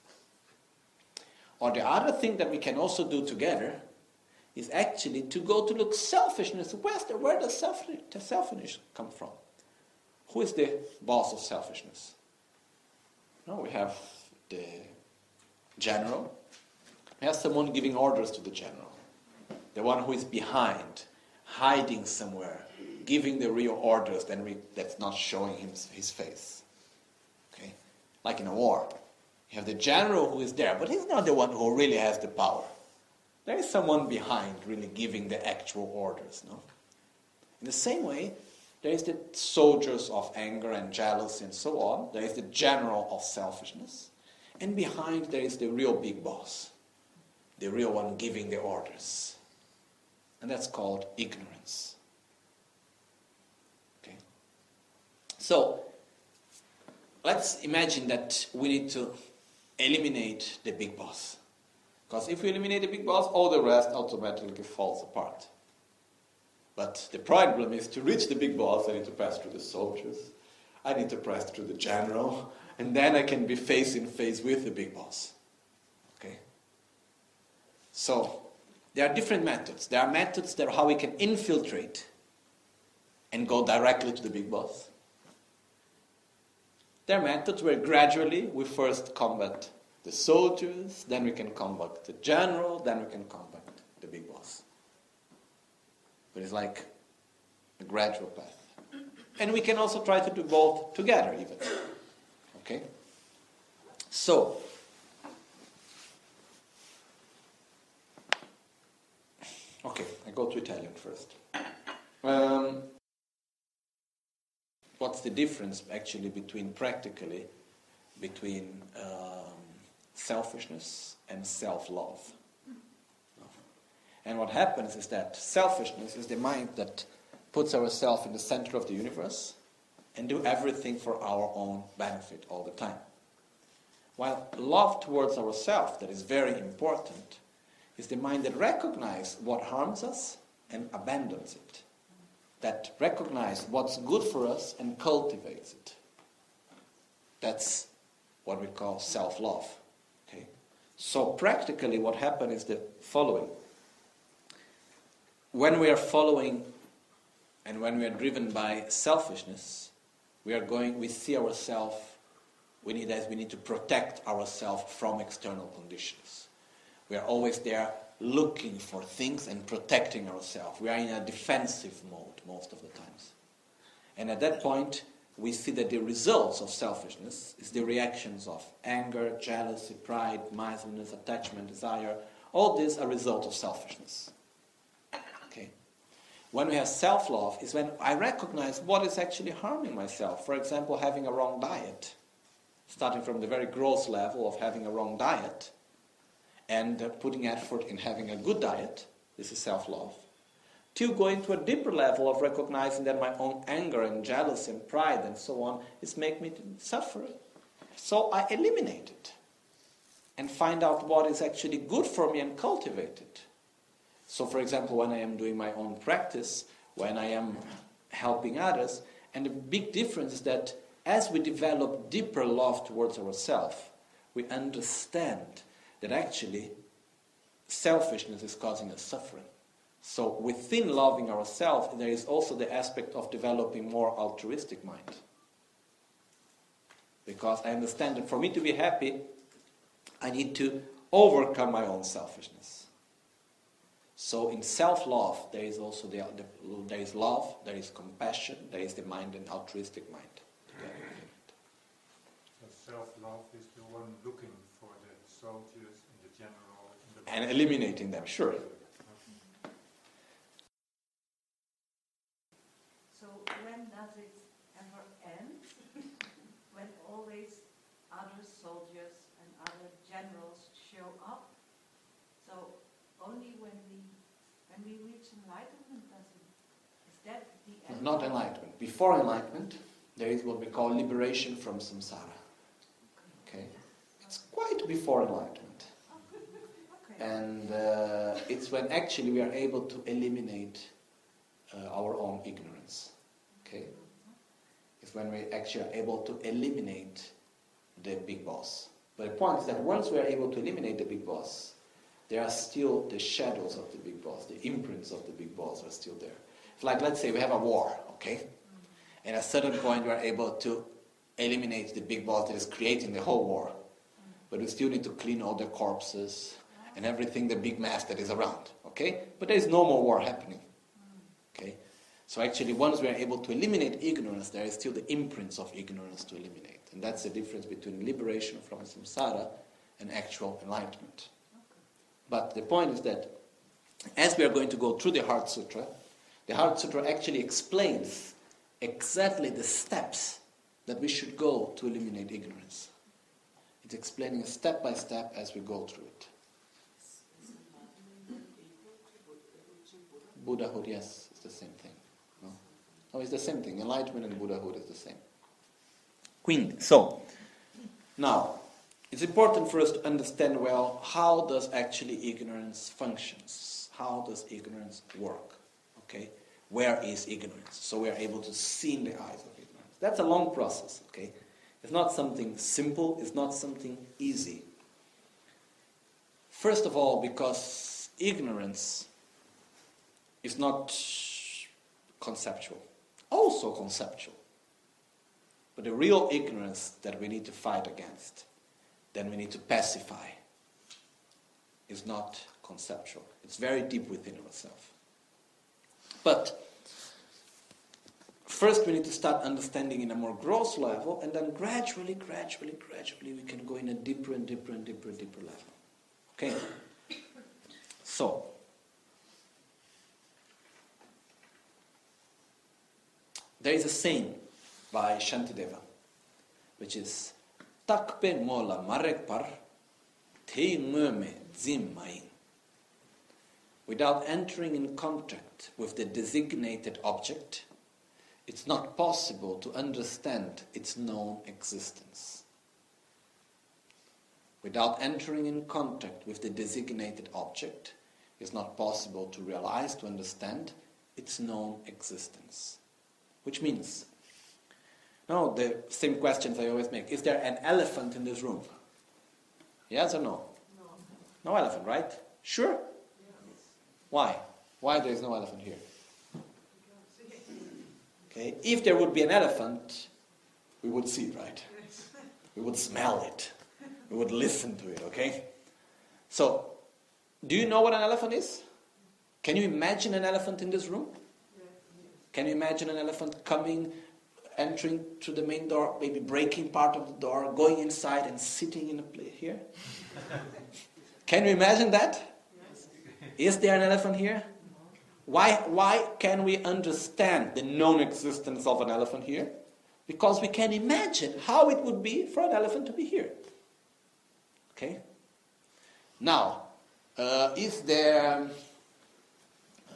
S3: Or the other thing that we can also do together is actually to go to look selfishness. Where's the, where does self, the selfishness come from? Who is the boss of selfishness? No, we have the general. We have someone giving orders to the general. The one who is behind, hiding somewhere, giving the real orders then we, that's not showing him his face. Okay? Like in a war. You have the general who is there, but he's not the one who really has the power. There is someone behind really giving the actual orders, no? In the same way, there is the soldiers of anger and jealousy and so on. There is the general of selfishness. And behind there is the real big boss. The real one giving the orders. And that's called ignorance. Okay? So, let's imagine that we need to eliminate the big boss. Because if we eliminate the big boss, all the rest automatically falls apart. But the problem is, to reach the big boss, I need to pass through the soldiers, I need to pass through the general, and then I can be face in face with the big boss. Okay? So, there are different methods. There are methods that are how we can infiltrate and go directly to the big boss. There are methods where gradually we first combat the soldiers, then we can combat the general, then we can combat the big boss. But it's like a gradual path. And we can also try to do both together even. Okay? So, okay, I go to Italian first. Um, what's the difference actually between practically between um, selfishness and self-love? And what happens is that selfishness is the mind that puts ourselves in the center of the universe and do everything for our own benefit all the time. While love towards ourselves, that is very important, is the mind that recognizes what harms us and abandons it. That recognizes what's good for us and cultivates it. That's what we call self-love. Okay? So practically what happens is the following. When we are following and when we are driven by selfishness, we are going, we see ourselves, we need as we need to protect ourselves from external conditions. We are always there looking for things and protecting ourselves. We are in a defensive mode most of the times. And at that point, we see that the results of selfishness is the reactions of anger, jealousy, pride, miserliness, attachment, desire. All these are results of selfishness. Okay. When we have self-love is when I recognize what is actually harming myself. For example, having a wrong diet. Starting from the very gross level of having a wrong diet and uh, putting effort in having a good diet, this is self-love, to going to a deeper level of recognizing that my own anger and jealousy and pride and so on is making me suffer. So I eliminate it and find out what is actually good for me and cultivate it. So for example, when I am doing my own practice, when I am helping others, and the big difference is that as we develop deeper love towards ourselves, we understand that actually selfishness is causing us suffering. So within loving ourselves, there is also the aspect of developing more altruistic mind. Because I understand that for me to be happy, I need to overcome my own selfishness. So in self-love, there is also the, the, there is love, there is compassion, there is the mind and altruistic mind.
S2: So self-love is the one looking for the soldiers and the general. And, the
S3: and eliminating them, sure.
S4: So when does it ever end? When always other soldiers and other generals show up? So only when we when we reach enlightenment does it, is that the end?
S3: Not enlightenment. Before enlightenment, there is what we call liberation from samsara. Okay? It's quite before enlightenment.
S4: Okay.
S3: And uh, it's when actually we are able to eliminate uh, our own ignorance. Okay? It's when we actually are able to eliminate the big boss. But the point is that once we are able to eliminate the big boss, there are still the shadows of the big boss, the imprints of the big boss are still there. It's like, let's say we have a war, okay? And at a certain point we are able to eliminate the big boss that is creating the whole war. But we still need to clean all the corpses and everything, the big mess that is around, okay? But there is no more war happening, okay? So actually once we are able to eliminate ignorance, there is still the imprints of ignorance to eliminate. And that's the difference between liberation from samsara and actual enlightenment. But the point is that as we are going to go through the Heart Sutra, the Heart Sutra actually explains exactly the steps that we should go to eliminate ignorance. It's explaining step by step as we go through it. Buddhahood, yes, it's the same thing. No, no, it's the same thing. Enlightenment and Buddhahood is the same. Quindi, so, now, it's important for us to understand well how does actually ignorance functions. How does ignorance work? Okay? Where is ignorance? So we are able to see in the eyes of ignorance. That's a long process, okay? It's not something simple, it's not something easy. First of all, because ignorance is not conceptual. Also conceptual. But the real ignorance that we need to fight against, then we need to pacify, is not conceptual. It's very deep within ourselves. But first we need to start understanding in a more gross level, and then gradually, gradually, gradually we can go in a deeper and deeper and deeper and deeper level. Okay? So, there is a saying by Shantideva, which is Takpe mola marek par te ngeme zim main. Without entering in contact with the designated object, it's not possible to understand its known existence. Without entering in contact with the designated object, it's not possible to realize, to understand its known existence. Which means, no, the same questions I always make. Is there an elephant in this room? Yes or no?
S4: No.
S3: No elephant, right? Sure?
S4: Yes.
S3: Why? Why there is no elephant here? Okay, if there would be an elephant, we would see it, right? We would smell it. We would listen to it, okay? So, do you know what an elephant is? Can you imagine an elephant in this room? Can you imagine an elephant coming, entering through the main door, maybe breaking part of the door, going inside and sitting in a place here? Can you imagine that?
S4: Yes.
S3: Is there an elephant here? Why, why can we understand the known existence of an elephant here? Because we can imagine how it would be for an elephant to be here. Okay? Now, uh, is there... Uh,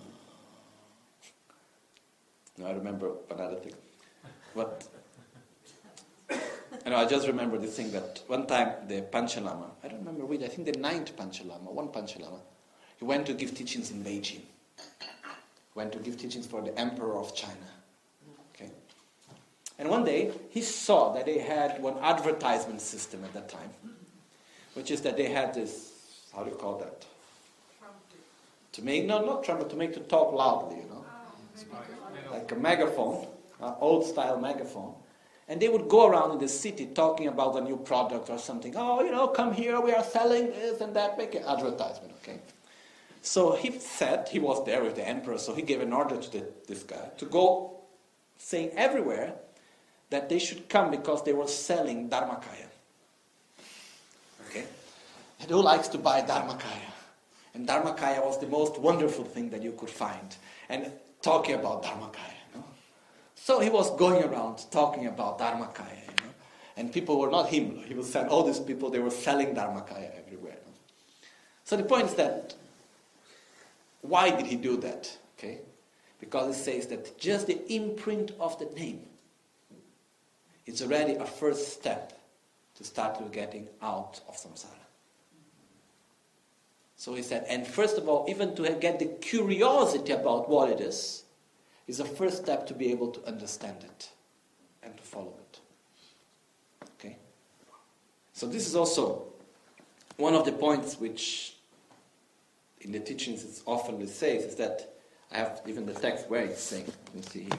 S3: no, I remember another thing. But, you know, I just remember this thing that one time the Panchalama, I don't remember which, I think the ninth Panchalama, one Panchalama, he went to give teachings in Beijing. Went to give teachings for the Emperor of China. Okay? And one day, he saw that they had one advertisement system at that time, which is that they had this, how do you call that?
S4: Trumpet.
S3: To make, no, not trumpet, to make to talk loudly, you know.
S4: Oh,
S3: Like a megaphone, an old-style megaphone. And they would go around in the city talking about a new product or something. Oh, you know, come here, we are selling this and that, make an advertisement, okay? So he said, he was there with the emperor, so he gave an order to the, this guy to go saying everywhere that they should come because they were selling Dharmakaya. Okay? And who likes to buy Dharmakaya? And Dharmakaya was the most wonderful thing that you could find. And talking about Dharmakaya. You know? So he was going around talking about Dharmakaya. You know? And people were not him. He was saying all these people, they were selling Dharmakaya everywhere. You know? So the point is that why did he do that? Okay? Because it says that just the imprint of the name is already a first step to start to getting out of samsara. So he said, and first of all, even to get the curiosity about what it is, is the first step to be able to understand it and to follow it. Okay? So this is also one of the points which in the teachings it's often says is that I have even the text where it's saying. Let me see here.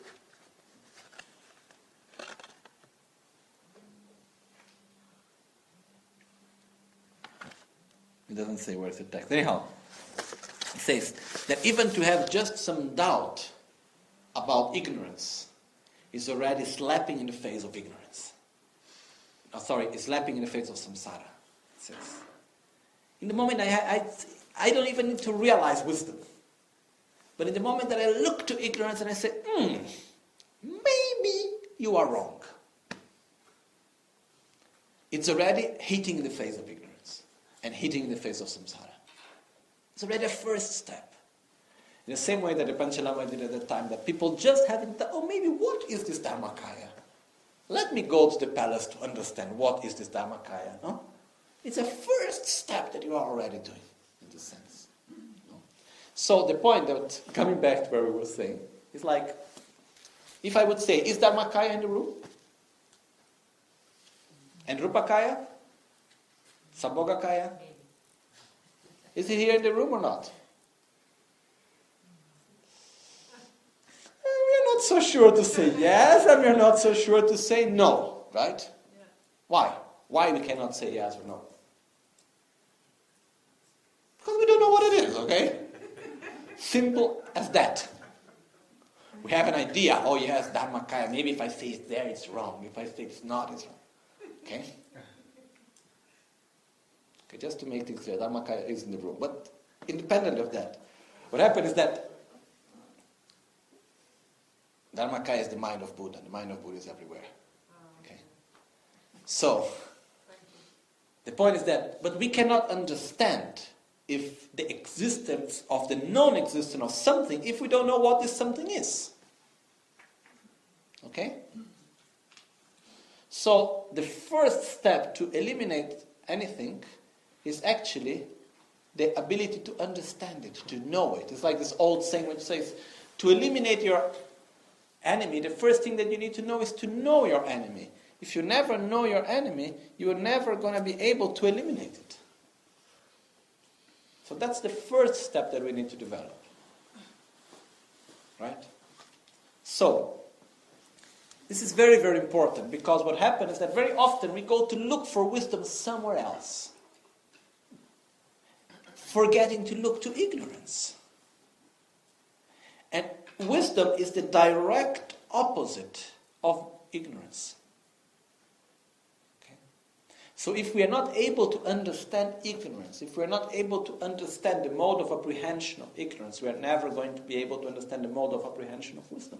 S3: It doesn't say where's the text. Anyhow, it says that even to have just some doubt about ignorance is already slapping in the face of ignorance. Oh, sorry, it's slapping in the face of samsara. It says. In the moment I, I, I don't even need to realize wisdom. But in the moment that I look to ignorance and I say, hmm, maybe you are wrong. It's already hitting in the face of ignorance and hitting in the face of samsara. It's already a first step. In the same way that the Panchalama did at the time, that people just haven't thought, oh, maybe what is this Dharmakaya? Let me go to the palace to understand what is this Dharmakaya. No? It's a first step that you are already doing, in this sense. No? So the point that, coming back to where we were saying, is like, if I would say, is Dharmakaya in the room? And Rupakaya? Sambhogakaya? Is he here in the room or not? We're not so sure to say yes, and we're not so sure to say no, right?
S4: Yeah.
S3: Why? Why we cannot say yes or no? Because we don't know what it is, okay? Simple as that. We have an idea, oh yes, Dharmakaya, maybe if I say it's there, it's wrong. If I say it's not, it's wrong. Okay? Okay, just to make things clear, Dharmakaya is in the room. But independent of that, what happened is that Dharmakaya is the mind of Buddha. The mind of Buddha is everywhere. Okay? So, the point is that, but we cannot understand if the existence of the non-existence of something if we don't know what this something is. Okay? So, the first step to eliminate anything is actually the ability to understand it, to know it. It's like this old saying which says, to eliminate your enemy, the first thing that you need to know is to know your enemy. If you never know your enemy, you are never going to be able to eliminate it. So that's the first step that we need to develop. Right? So, this is very, very important, because what happens is that very often we go to look for wisdom somewhere else, forgetting to look to ignorance. And wisdom is the direct opposite of ignorance. Okay? So if we are not able to understand ignorance, if we are not able to understand the mode of apprehension of ignorance, we are never going to be able to understand the mode of apprehension of wisdom.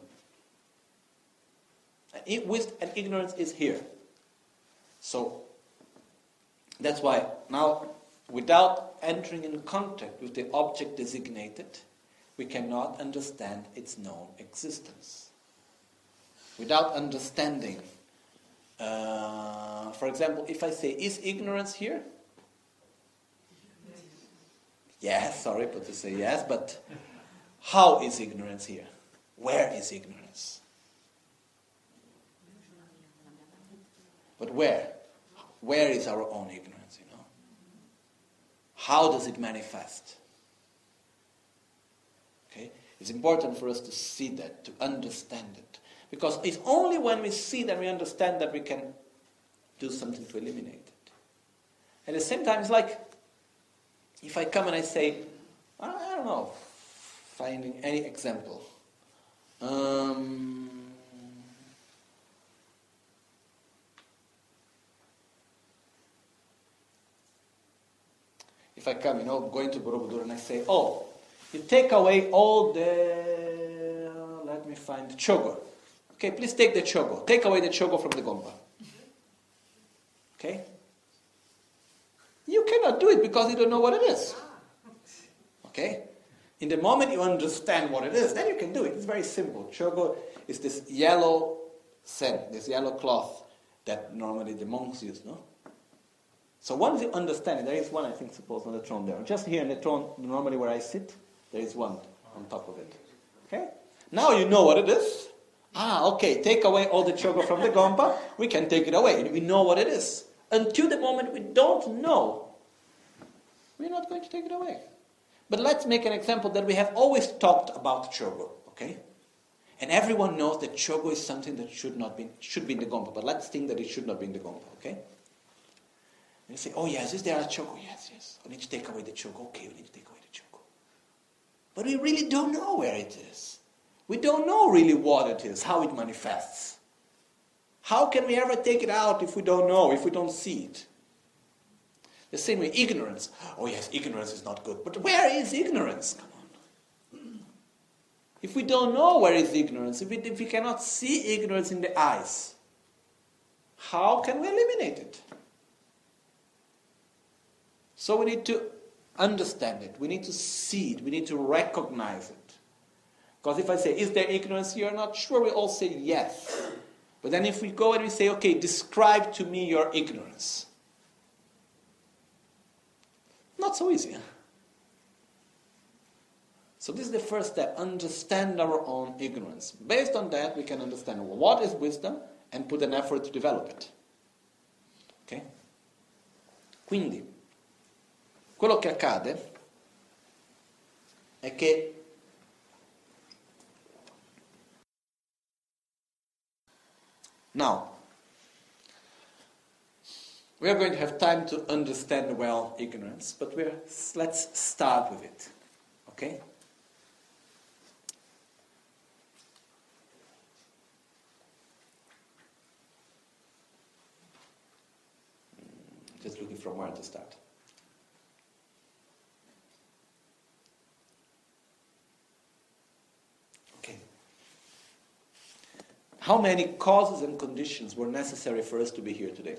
S3: And, wisdom and ignorance is here. So that's why now, without entering in contact with the object designated, we cannot understand its known existence. Without understanding, uh, for example, if I say, is ignorance here? Yes, sorry, but to say yes, but how is ignorance here? Where is ignorance? But where? Where is our own ignorance, you know? How does it manifest? Okay? It's important for us to see that, to understand it. Because it's only when we see that we understand that we can do something to eliminate it. At the same time, it's like, if I come and I say, I don't know, finding any example. Um... If I come, you know, going to Borobudur and I say, oh, you take away all the, let me find, the chogo. Okay, please take the chogo. Take away the chogo from the gompa. Okay? You cannot do it because you don't know what it is. Okay? In the moment you understand what it is, then you can do it. It's very simple. Chogo is this yellow scent, this yellow cloth that normally the monks use, no? So once you understand it, there is one, I think, supposed on the throne there. Just here in the throne, normally where I sit, there is one on top of it. Okay? Now you know what it is. Ah, okay, take away all the chogo from the gompa, we can take it away. We know what it is. Until the moment we don't know, we're not going to take it away. But let's make an example that we have always talked about chogo, okay? And everyone knows that chogo is something that should not be, should be in the gompa, but let's think that it should not be in the gompa, okay? And you say, oh yes, is there a chogo? Yes, yes. We need to take away the chogo. Okay, we need to take away the chogo. But we really don't know where it is. We don't know really what it is, how it manifests. How can we ever take it out if we don't know, if we don't see it? The same way, ignorance. Oh yes, ignorance is not good. But where is ignorance? Come on. If we don't know where is ignorance, if we, if we cannot see ignorance in the eyes, how can we eliminate it? So we need to understand it. We need to see it. We need to recognize it. Because if I say, is there ignorance? You're not sure. We all say yes. But then if we go and we say, okay, describe to me your ignorance. Not so easy. So this is the first step. Understand our own ignorance. Based on that, we can understand what is wisdom and put an effort to develop it. Ok? Quindi, quello che accade Okay. Now, we are going to have time to understand well ignorance, but we're, let's start with it. Okay? Just looking from where to start. Okay. How many causes and conditions were necessary for us to be here today?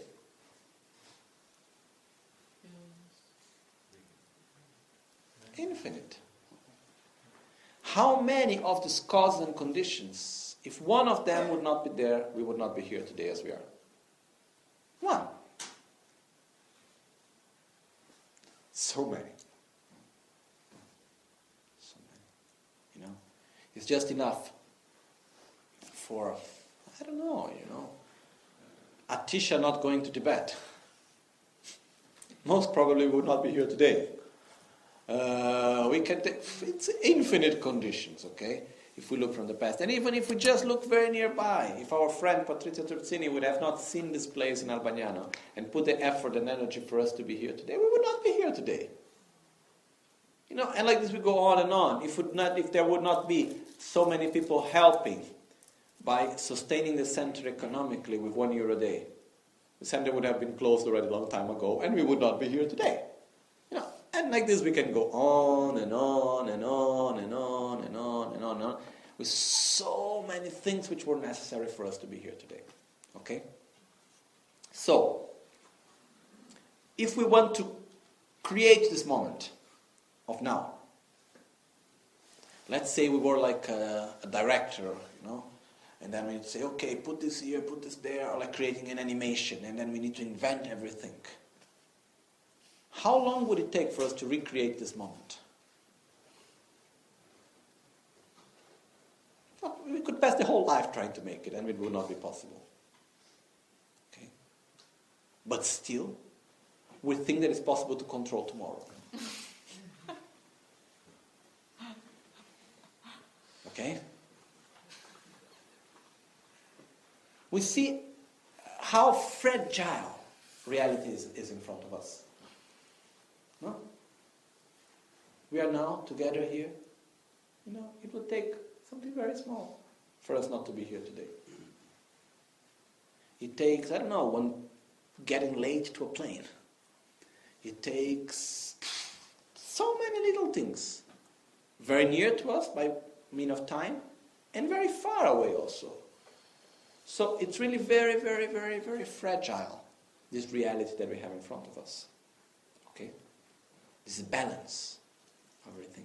S3: Infinite. How many of these causes and conditions, if one of them would not be there, we would not be here today as we are? One. So many. So many. You know, it's just enough for, I don't know, you know, Atisha not going to Tibet. Most probably would not be here today. Uh, we can take, it's infinite conditions, okay, if we look from the past. And even if we just look very nearby, if our friend Patrizia Terzini would have not seen this place in Albagnano and put the effort and energy for us to be here today, we would not be here today. You know, and like this we go on and on. If, would not, if there would not be so many people helping by sustaining the center economically with one euro a day, the center would have been closed already a long time ago, and we would not be here today. You know, and like this we can go on and on and on and on and on and on and on with so many things which were necessary for us to be here today. Okay? So, if we want to create this moment of now, let's say we were like a, a director, you know, and then we'd say, okay, put this here, put this there, or like creating an animation, and then we need to invent everything. How long would it take for us to recreate this moment? Well, we could pass the whole life trying to make it, and it would not be possible. Okay? But still, we think that it's possible to control tomorrow. Okay? We see how fragile reality is, is in front of us. No? We are now together here. You know, it would take something very small for us not to be here today. It takes, I don't know, one getting late to a plane. It takes so many little things. Very near to us by mean of time, and very far away also. So it's really very, very, very, very fragile, this reality that we have in front of us. Okay? This balance of everything.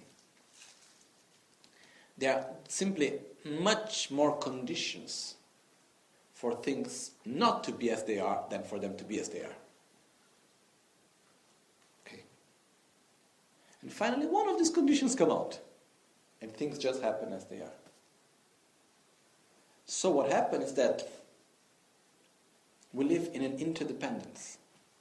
S3: There are simply much more conditions for things not to be as they are than for them to be as they are. Okay? And finally, one of these conditions come out, and things just happen as they are. So what happens is that we live in an interdependence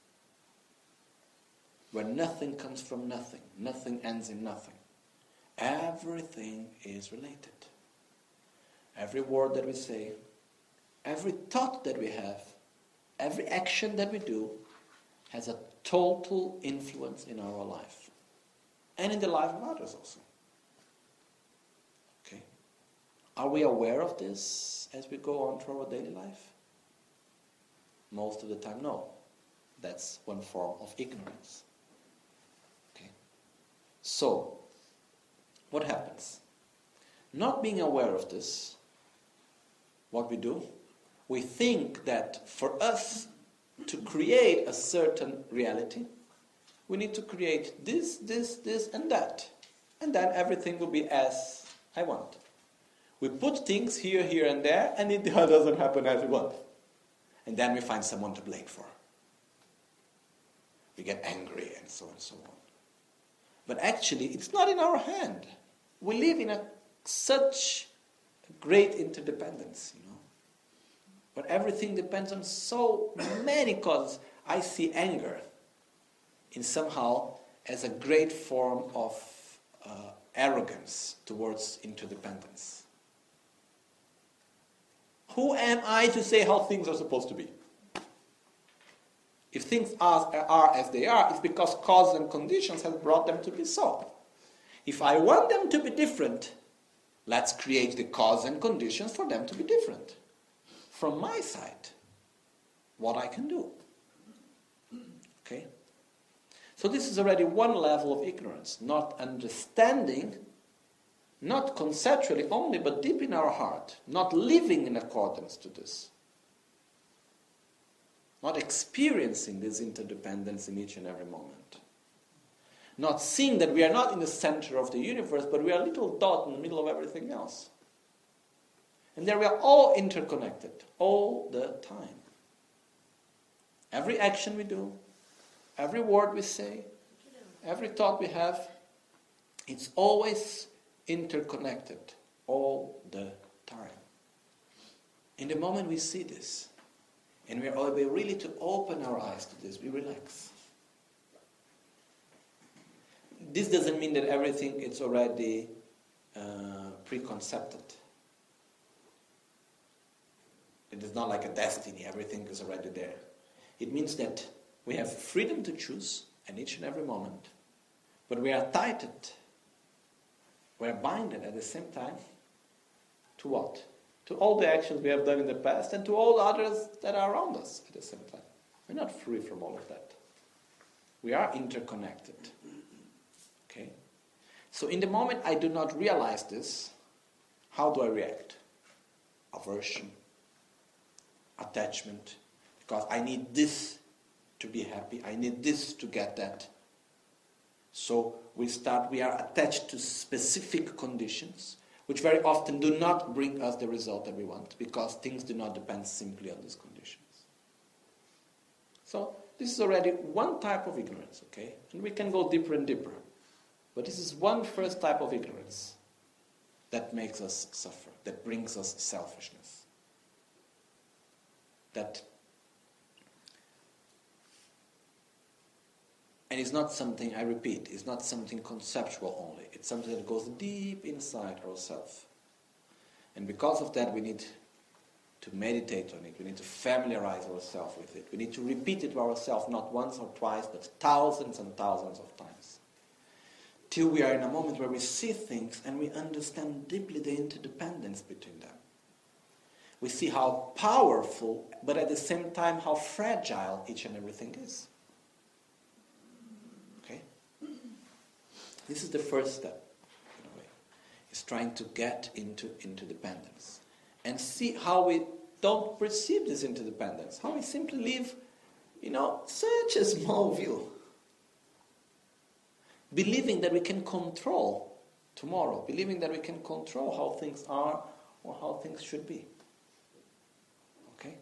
S3: where nothing comes from nothing, nothing ends in nothing. Everything is related. Every word that we say, every thought that we have, every action that we do has a total influence in our life and in the life of others also. Okay? Are we aware of this as we go on through our daily life? Most of the time, no. That's one form of ignorance. Okay? So, what happens? Not being aware of this, what we do, we think that for us to create a certain reality, we need to create this, this, this, and that. And then everything will be as I want. We put things here, here, and there, and it doesn't happen as we want. And then we find someone to blame for. We get angry and so on and so on. But actually, it's not in our hand. We live in a such great interdependence, you know, where everything depends on so many causes. I see anger in somehow as a great form of uh, arrogance towards interdependence. Who am I to say how things are supposed to be? If things are, are as they are, it's because cause and conditions have brought them to be so. If I want them to be different, let's create the cause and conditions for them to be different. From my side, what I can do. Okay? So this is already one level of ignorance, not understanding, not conceptually only, but deep in our heart, not living in accordance to this. Not experiencing this interdependence in each and every moment. Not seeing that we are not in the center of the universe, but we are a little dot in the middle of everything else. And there we are all interconnected, all the time. Every action we do, every word we say, every thought we have, it's always interconnected, all the time. In the moment we see this, and we are able really to open our eyes to this, we relax. This doesn't mean that everything is already uh, preconcepted. It is not like a destiny, everything is already there. It means that we have freedom to choose at each and every moment, but we are tied, we are binded at the same time to what? To all the actions we have done in the past and to all the others that are around us at the same time. We're not free from all of that. We are interconnected. Okay? So in the moment I do not realize this, how do I react? Aversion, attachment, because I need this to be happy, I need this to get that. So we start, we are attached to specific conditions, which very often do not bring us the result that we want, because things do not depend simply on these conditions. So this is already one type of ignorance, okay? And we can go deeper and deeper. But this is one first type of ignorance that makes us suffer, that brings us selfishness. That, and it's not something, I repeat, it's not something conceptual only. It's something that goes deep inside ourselves. And because of that, we need to meditate on it. We need to familiarize ourselves with it. We need to repeat it to ourselves, not once or twice, but thousands and thousands of times. Till we are in a moment where we see things and we understand deeply the interdependence between them. We see how powerful, but at the same time how fragile each and everything is. Okay? This is the first step, in a way. Is trying to get into interdependence. And see how we don't perceive this interdependence. How we simply live, you know, such a small view. Believing that we can control tomorrow. Believing that we can control how things are or how things should be. Okay?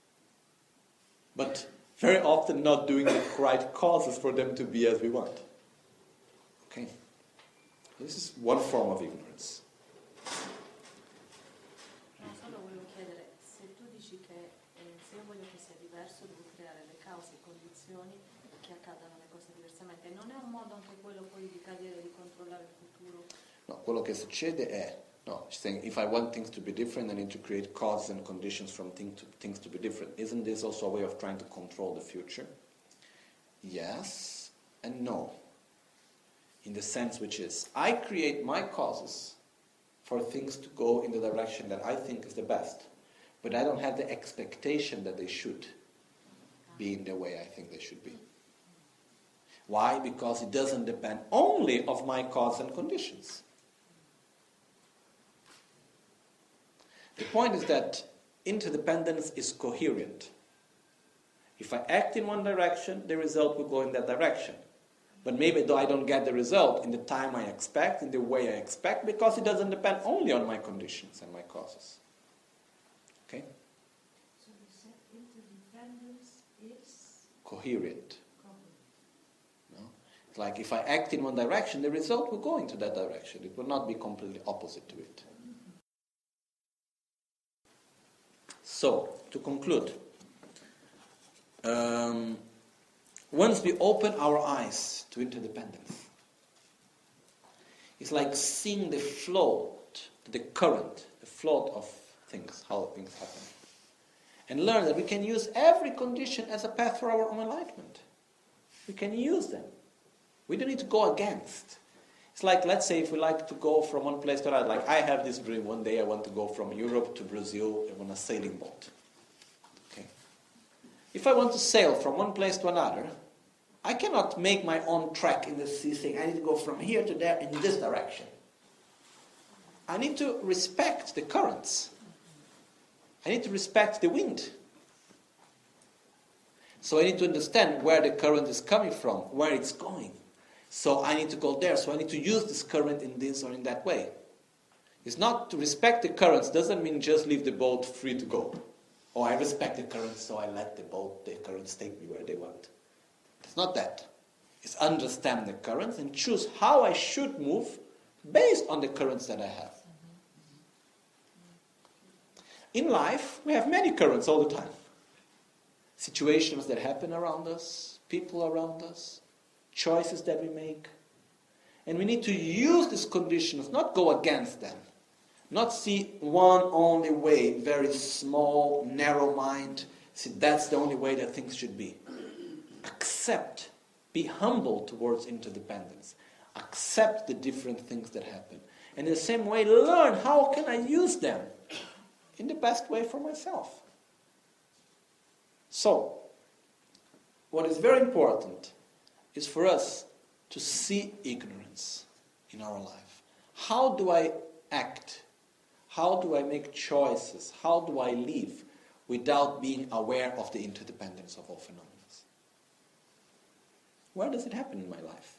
S3: But very often not doing the right causes for them to be as we want. Okay? This is one form of ignorance.
S5: No, solo volevo chiedere, se tu dici che eh, se io voglio che sia diverso devo creare le cause e condizioni che accadano le cose diversamente, non è un modo anche quello poi di cadere, di controllare il futuro?
S3: No, quello che succede è, no, she's saying if I want things to be different, I need to create causes and conditions from thing to, things to be different. Isn't this also a way of trying to control the future? Yes and no. In the sense which is, I create my causes for things to go in the direction that I think is the best, but I don't have the expectation that they should be in the way I think they should be. Why? Because it doesn't depend only of my cause and conditions. The point is that interdependence is coherent. If I act in one direction, the result will go in that direction. But maybe though I don't get the result in the time I expect, in the way I expect, because it doesn't depend only on my conditions and my causes. Okay?
S4: So you said interdependence is
S3: Coherent.
S4: common.
S3: No? It's like if I act in one direction, the result will go into that direction. It will not be completely opposite to it. So, to conclude, um, once we open our eyes to interdependence, It's like seeing the float, the current, the float of things, how things happen. And learn that we can use every condition as a path for our own enlightenment. We can use them. We don't need to go against. It's like, let's say, if we like to go from one place to another. Like, I have this dream. One day I want to go from Europe to Brazil on a sailing boat. Okay. If I want to sail from one place to another, I cannot make my own track in the sea saying, I need to go from here to there in this direction. I need to respect the currents. I need to respect the wind. So I need to understand where the current is coming from, where it's going. So I need to go there. So I need to use this current in this or in that way. It's not to respect the currents doesn't mean just leave the boat free to go. Oh, I respect the currents, so I let the boat, the currents take me where they want. It's not that. It's understand the currents and choose how I should move based on the currents that I have. In life, we have many currents all the time. Situations that happen around us, people around us, choices that we make. And we need to use these conditions, not go against them. Not see one only way, very small, narrow mind. See, that's the only way that things should be. Accept, be humble towards interdependence. Accept the different things that happen. And in the same way, learn how can I use them in the best way for myself. So, what is very important is for us to see ignorance in our life. How do I act? How do I make choices? How do I live without being aware of the interdependence of all phenomena? Where does it happen in my life?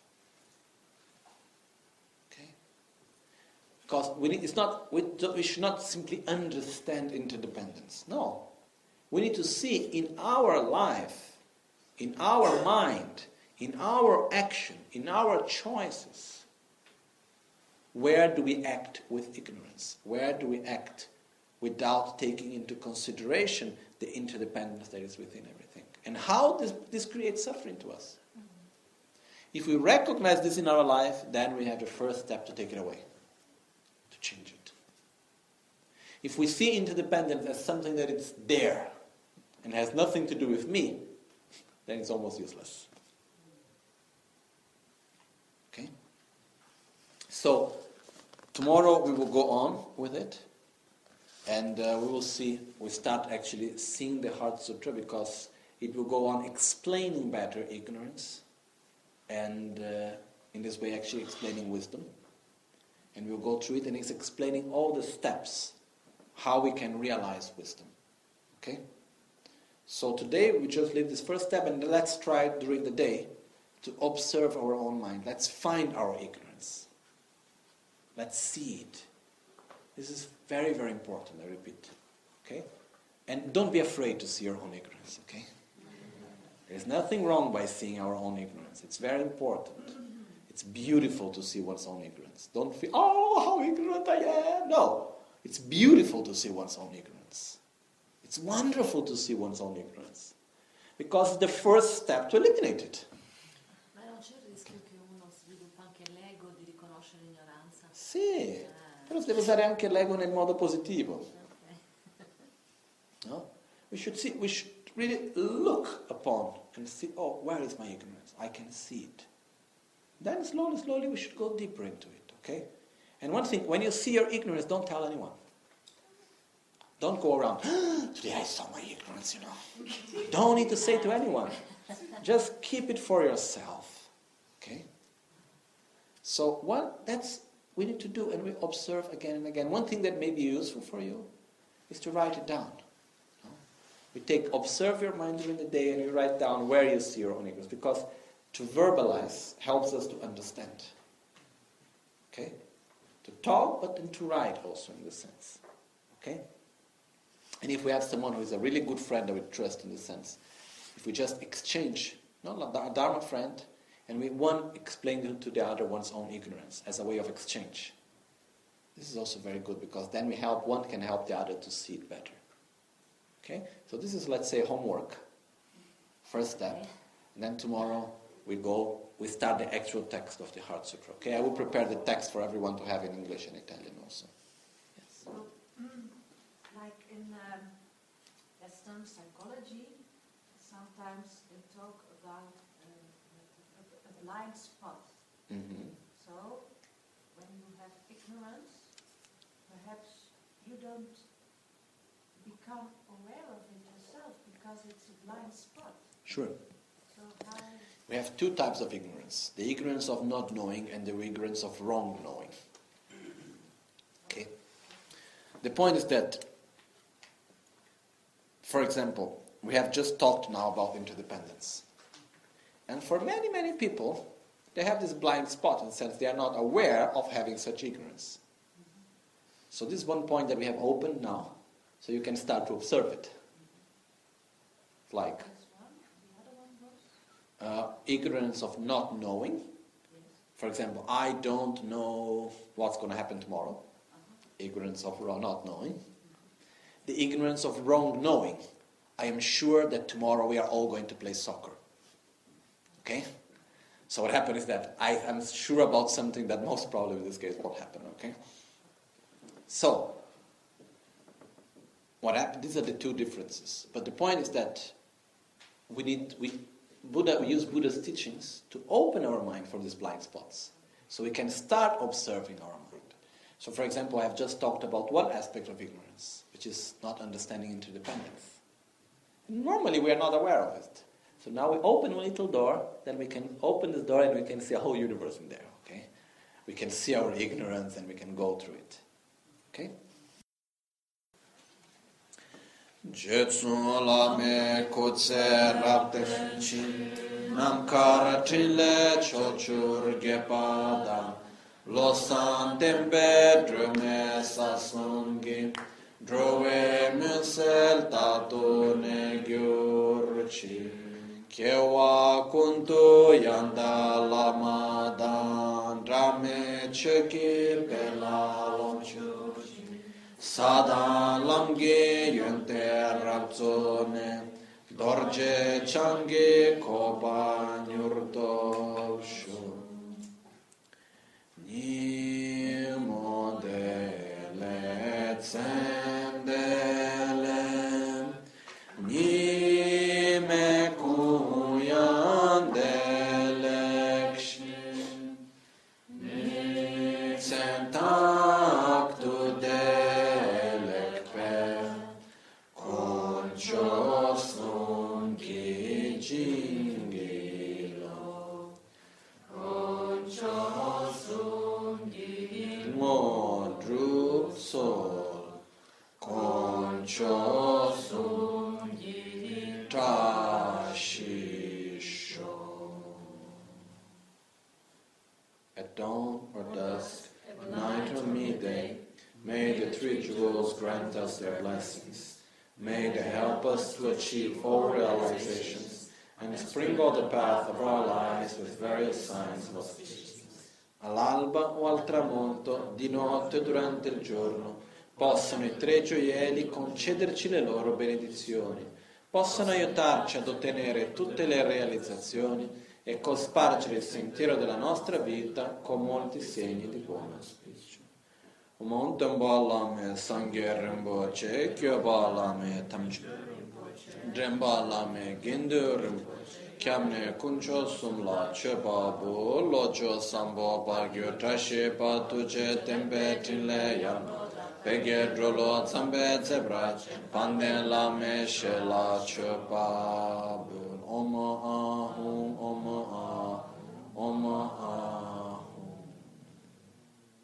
S3: Okay? Because we need, it's not, we, we should not simply understand interdependence. No. We need to see in our life, in our mind, in our action, in our choices, where do we act with ignorance? Where do we act without taking into consideration the interdependence that is within everything? And how this, this creates suffering to us? If we recognize this in our life, then we have the first step to take it away, to change it. If we see interdependence as something that is there and has nothing to do with me, then it's almost useless. Okay? So, tomorrow we will go on with it, and uh, we will see, we start actually seeing the Heart Sutra, because it will go on explaining better ignorance, and uh, in this way actually explaining wisdom. And we'll go through it, and it's explaining all the steps, how we can realize wisdom. Okay? So today we just leave this first step, and let's try during the day to observe our own mind. Let's find our ignorance. Let's see it. This is very, very important, I repeat. Okay? And don't be afraid to see your own ignorance, okay? There's nothing wrong by seeing our own ignorance. It's very important. It's beautiful to see one's own ignorance. Don't feel, oh, how ignorant I am. No. It's beautiful to see one's own ignorance. It's wonderful to see one's own ignorance. Because it's the first step to eliminate it.
S5: Ma non c'è il rischio che uno sviluppa anche l'ego di riconoscere l'ignoranza?
S3: Sì, però si deve usare anche l'ego nel modo positivo. No? We should see, we should really look upon and see, oh, where is my ignorance? I can see it. Then slowly, slowly we should go deeper into it, okay? And one thing, when you see your ignorance, don't tell anyone. Don't go around, ah, today I saw my ignorance, you know. Don't need to say to anyone. Just keep it for yourself, okay? So what that's we need to do, and we observe again and again. One thing that may be useful for you is to write it down. No? You take, observe your mind during the day, and you write down where you see your own ignorance, because to verbalize helps us to understand. Okay? To talk, but then to write also in this sense. Okay? And if we have someone who is a really good friend that we trust in this sense, if we just exchange, not a Dharma friend, and we one explain to the other one's own ignorance as a way of exchange. This is also very good, because then we help, one can help the other to see it better. Okay? So this is, let's say, homework. First step. And then tomorrow we go we start the actual text of the Heart Sutra. Okay, I will prepare the text for everyone to have in English and Italian also. Yes.
S4: So, mm, like in um, Western psychology, sometimes they talk about uh, a, a blind spot.
S3: Mm-hmm.
S4: So, when you have ignorance, perhaps you don't become aware of it yourself because it's a blind spot.
S3: Sure.
S4: So how...
S3: We have two types of ignorance. The ignorance of not knowing and the ignorance of wrong knowing. Okay? The point is that, for example, we have just talked now about interdependence. And for many, many people, they have this blind spot in the sense they are not aware of having such ignorance. So this is one point that we have opened now, so you can start to observe it. Like uh, ignorance of not knowing. For example, I don't know what's going to happen tomorrow. Ignorance of not knowing. The ignorance of wrong knowing. I am sure that tomorrow we are all going to play soccer. Okay? So what happened is that I am sure about something that most probably in this case won't happen. Okay? So, what happened? These are the two differences. But the point is that we need we Buddha we use Buddha's teachings to open our mind for these blind spots, so we can start observing our mind. So, for example, I have just talked about one aspect of ignorance, which is not understanding interdependence. Normally, we are not aware of it. So now we open a little door, then we can open this door and we can see a whole universe in there. Okay, we can see our ignorance and we can go through it. Okay.
S1: Jetsu la me kutse rapte chin nam kara trile chochur gepada lo san tembe drume sasungi drove musel tato ne gyurchi kewa kuntu yanda lamadan drame cheki pela lomchu Sada lamge yönte rapzone dorje change koba nyurto shu ni modele tsendele ni me kuyandele kshin ni sentak tu de
S3: At dawn or dusk, at night or midday, may the three jewels grant us their blessings. May they help us to achieve all realizations and sprinkle the path of our lives with various signs of auspiciousness. All'alba o al tramonto, di notte o durante il giorno, possano i tre gioielli concederci le loro benedizioni, possano aiutarci ad ottenere tutte le realizzazioni e cospargere il sentiero della nostra vita con molti segni di buon auspicio. Omontembalame sangeremboce, kyobalame tamche, drembalame genduremboce, kyamne kuncho sumla chebabu, lojo sambo bagyo trashe patuce tempe tinle yam, peghe drolo zambe zebrach, pande lame shela chebabu, om ahum, om ah, om ah.